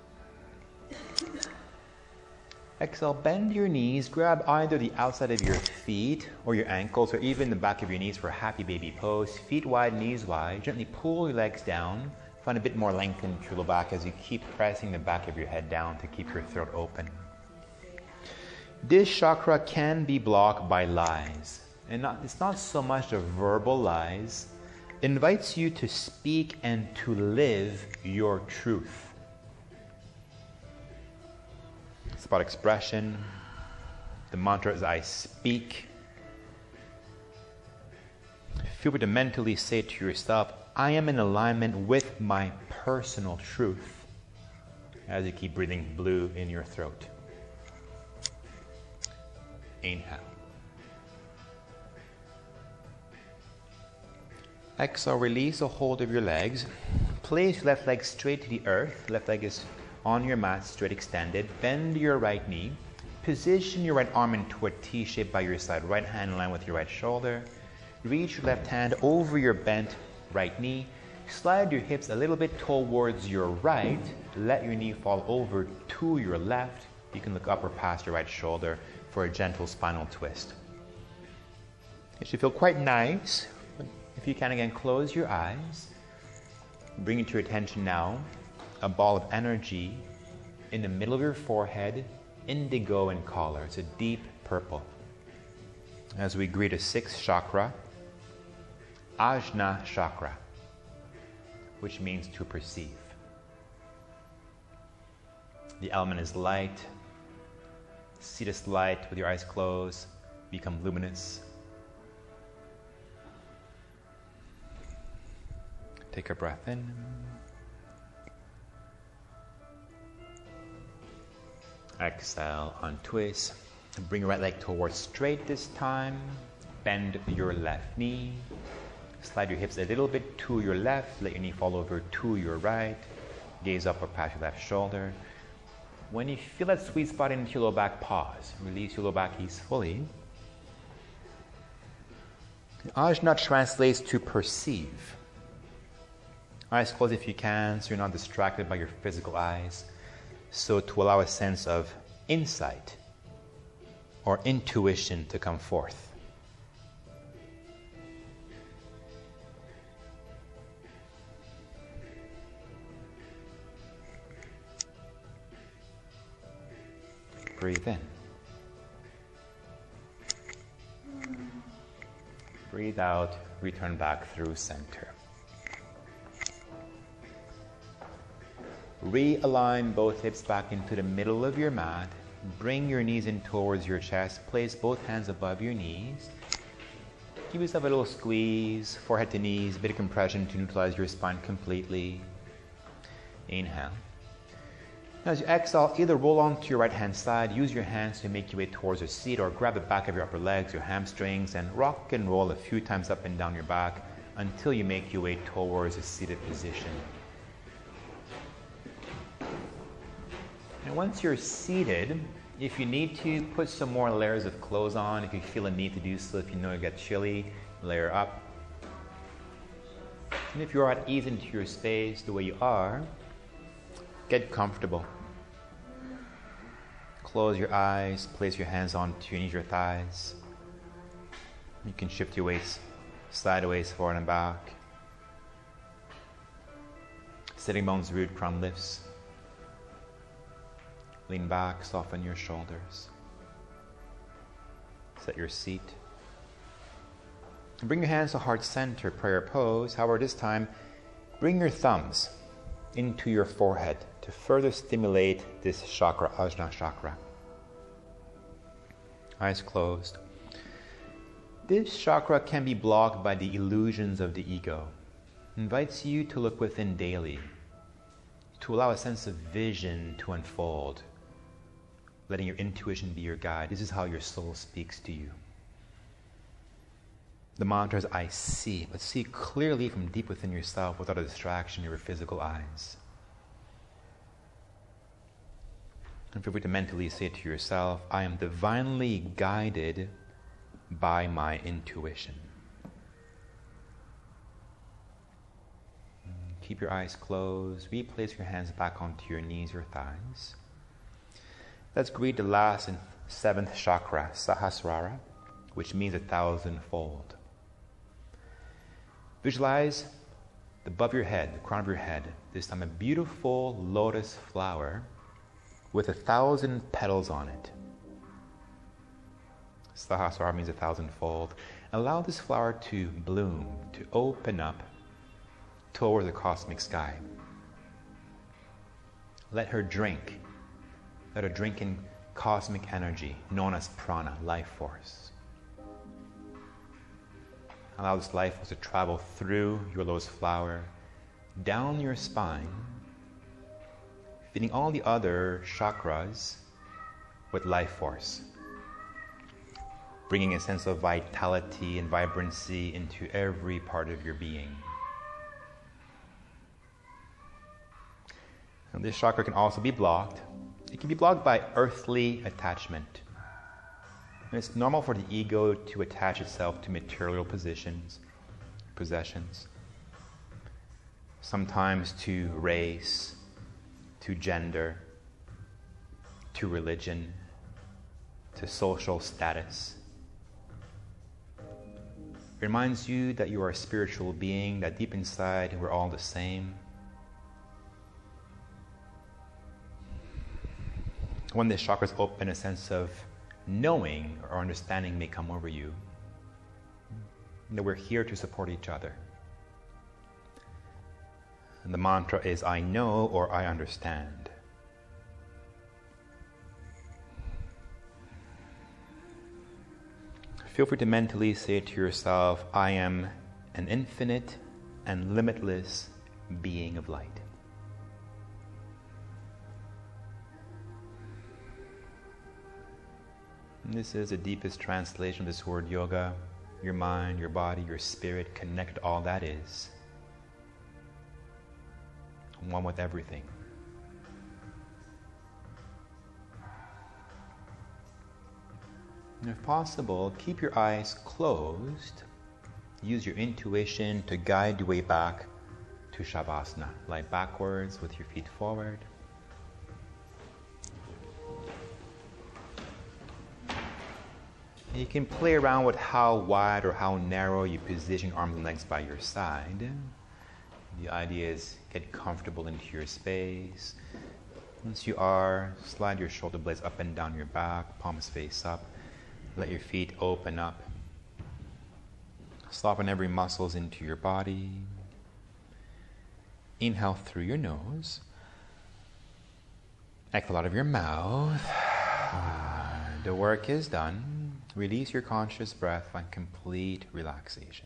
Exhale, bend your knees, grab either the outside of your feet or your ankles or even the back of your knees for a happy baby pose. Feet wide, knees wide. Gently pull your legs down. Find a bit more length in your low back as you keep pressing the back of your head down to keep your throat open. This chakra can be blocked by lies. And it's not so much the verbal lies. It invites you to speak and to live your truth. It's about expression. The mantra is I speak. Feel free to mentally say to yourself, I am in alignment with my personal truth as you keep breathing blue in your throat. Inhale. Exhale, release a hold of your legs. Place your left leg straight to the earth. Left leg is on your mat, straight extended. Bend your right knee. Position your right arm into a T shape by your side. Right hand in line with your right shoulder. Reach your left hand over your bent right knee. Slide your hips a little bit towards your right. Let your knee fall over to your left. You can look up or past your right shoulder for a gentle spinal twist. It should feel quite nice. If you can, again, close your eyes. Bring it to your attention now, a ball of energy in the middle of your forehead, indigo in color. It's a deep purple. As we greet a sixth chakra, Ajna chakra, which means to perceive. The element is light. See this light with your eyes closed, become luminous. Take a breath in. Exhale, untwist. Bring your right leg towards straight this time. Bend your left knee. Slide your hips a little bit to your left. Let your knee fall over to your right. Gaze up or past your left shoulder. When you feel that sweet spot into your low back, pause. Release your low back easefully. Ajna translates to perceive. Eyes closed if you can, so you're not distracted by your physical eyes. So to allow a sense of insight or intuition to come forth. Breathe in. Breathe out, return back through center. Realign both hips back into the middle of your mat. Bring your knees in towards your chest. Place both hands above your knees. Give yourself a little squeeze, forehead to knees, a bit of compression to neutralize your spine completely. Inhale. Now as you exhale, either roll onto your right hand side, use your hands to make your way towards a seat, or grab the back of your upper legs, your hamstrings, and rock and roll a few times up and down your back until you make your way towards a seated position. And once you're seated, if you need to, put some more layers of clothes on. If you feel a need to do so, if you know you get chilly, layer up. And if you're at ease into your space the way you are, get comfortable. Close your eyes, place your hands onto your knees, your thighs. You can shift your weight sideways, forward and back. Sitting bones root, crown lifts. Lean back, soften your shoulders. Set your seat. And bring your hands to heart center, prayer pose. However, this time, bring your thumbs into your forehead to further stimulate this chakra, Ajna chakra. Eyes closed. This chakra can be blocked by the illusions of the ego. It invites you to look within daily, to allow a sense of vision to unfold, letting your intuition be your guide. This is how your soul speaks to you. The mantra is, I see, but see clearly from deep within yourself without a distraction of your physical eyes. And feel free to mentally say to yourself, I am divinely guided by my intuition. Keep your eyes closed. Replace your hands back onto your knees or thighs. Let's greet the last and seventh chakra, Sahasrara, which means 1,000-fold. Visualize above your head, the crown of your head, this time a beautiful lotus flower with 1,000 petals on it. Sahasrara means 1,000-fold. Allow this flower to bloom, to open up toward the cosmic sky. Let her drink in cosmic energy known as prana, life force. Allow this life force to travel through your lotus flower, down your spine, feeding all the other chakras with life force, bringing a sense of vitality and vibrancy into every part of your being. And this chakra can also be blocked. It can be blocked by earthly attachment. And it's normal for the ego to attach itself to material possessions. sometimes to race, to gender, to religion, to social status. It reminds you that you are a spiritual being, that deep inside we're all the same. When the chakras open, a sense of knowing or understanding may come over you. That we're here to support each other. And the mantra is, I know or I understand. Feel free to mentally say to yourself, I am an infinite and limitless being of light. And this is the deepest translation of this word yoga. Your mind, your body, your spirit, connect all that is. One with everything. And if possible, keep your eyes closed. Use your intuition to guide your way back to Shavasana. Lie backwards with your feet forward. You can play around with how wide or how narrow you position your arms and legs by your side. The idea is get comfortable into your space. Once you are, slide your shoulder blades up and down your back, palms face up. Let your feet open up. Soften every muscles into your body. Inhale through your nose. Exhale out of your mouth. The work is done. Release your conscious breath on complete relaxation.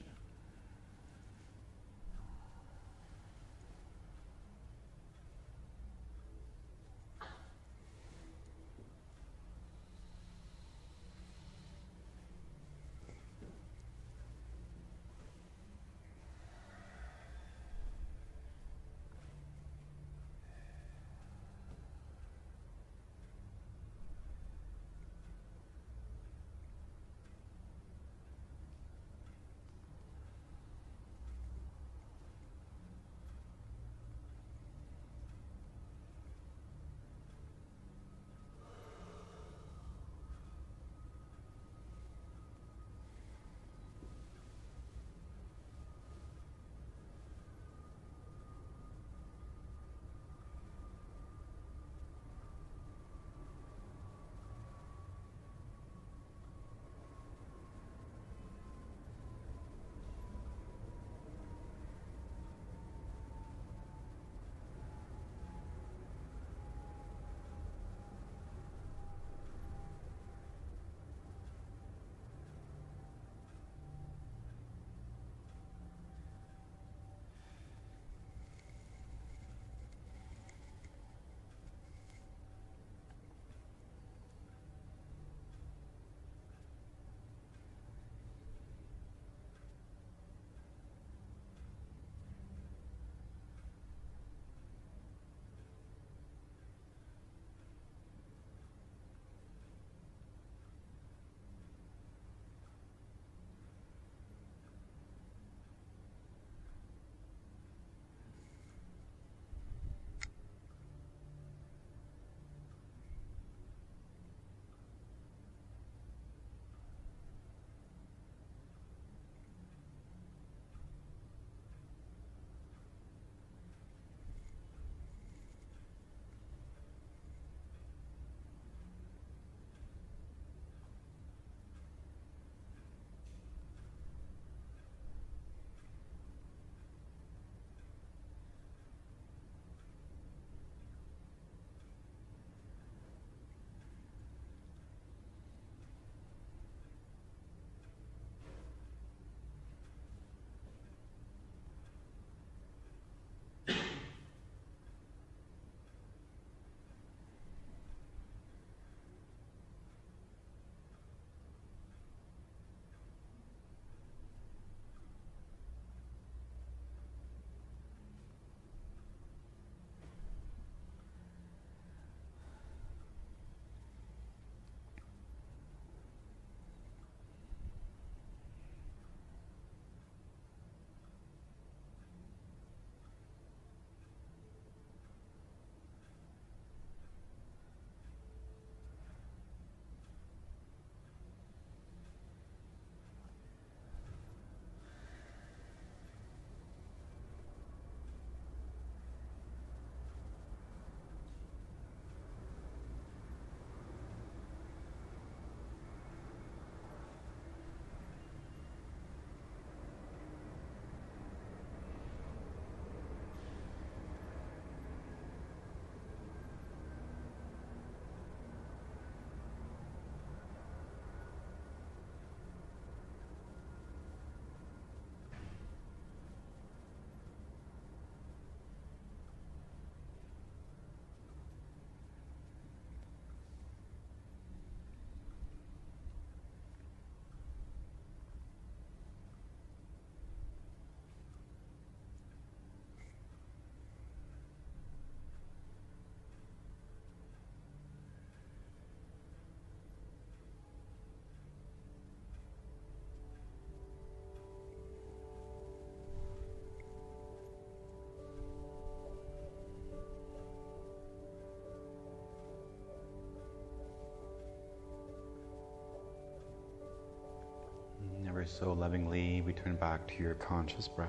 Ever so lovingly, return back to your conscious breath.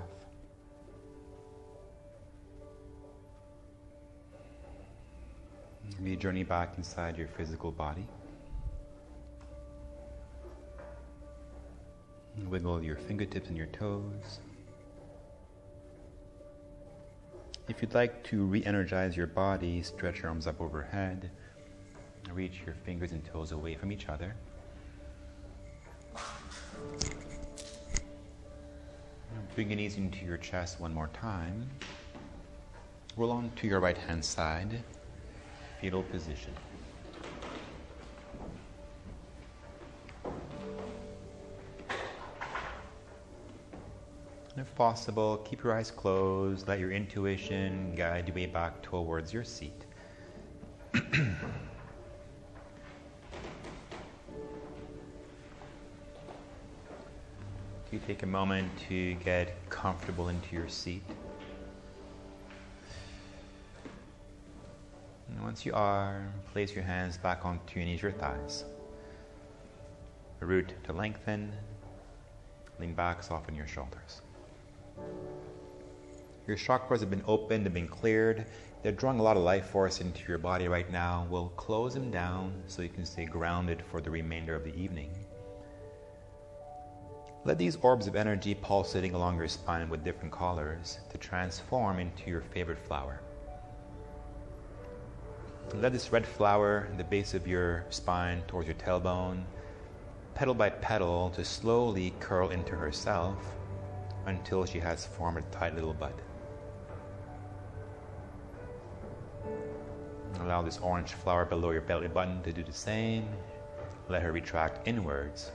We journey back inside your physical body. Wiggle your fingertips and your toes. If you'd like to re-energize your body, stretch your arms up overhead. Reach your fingers and toes away from each other. Bring your knees into your chest one more time. Roll on to your right hand side. Fetal position. And if possible, keep your eyes closed. Let your intuition guide your way back towards your seat. You take a moment to get comfortable into your seat. And once you are, place your hands back onto your knees, your thighs. The root to lengthen. Lean back, soften your shoulders. Your chakras have been opened, they've been cleared. They're drawing a lot of life force into your body right now. We'll close them down so you can stay grounded for the remainder of the evening. Let these orbs of energy pulsating along your spine with different colors to transform into your favorite flower. Let this red flower, the base of your spine towards your tailbone, petal by petal, to slowly curl into herself until she has formed a tight little bud. Allow this orange flower below your belly button to do the same. Let her retract inwards.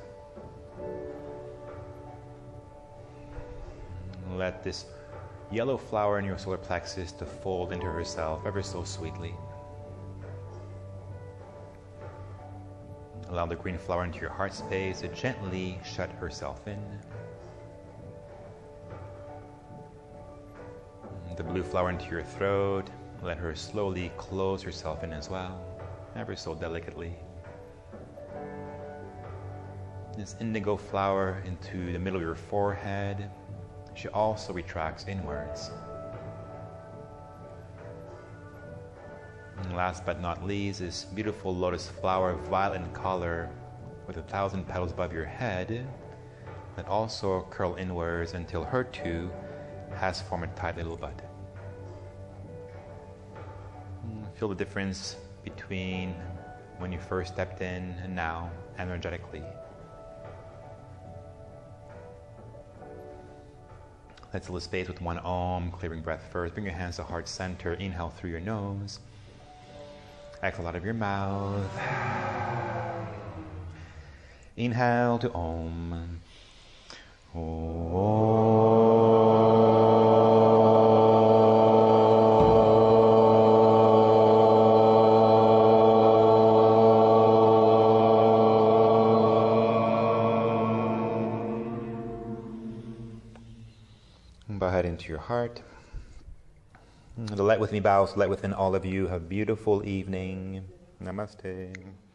Let this yellow flower in your solar plexus to fold into herself ever so sweetly. Allow the green flower into your heart space to gently shut herself in. The blue flower into your throat. Let her slowly close herself in as well, ever so delicately. This indigo flower into the middle of your forehead. She also retracts inwards. And last but not least, this beautiful lotus flower, violet in color, with 1,000 petals above your head, that also curl inwards until her too has formed a tight little bud. Feel the difference between when you first stepped in and now, energetically. Let's fill the space with one Om, clearing breath first. Bring your hands to heart center. Inhale through your nose. Exhale out of your mouth. Inhale to Om. Bow head into your heart. The light within me bows, light within all of you. Have a beautiful evening. Namaste.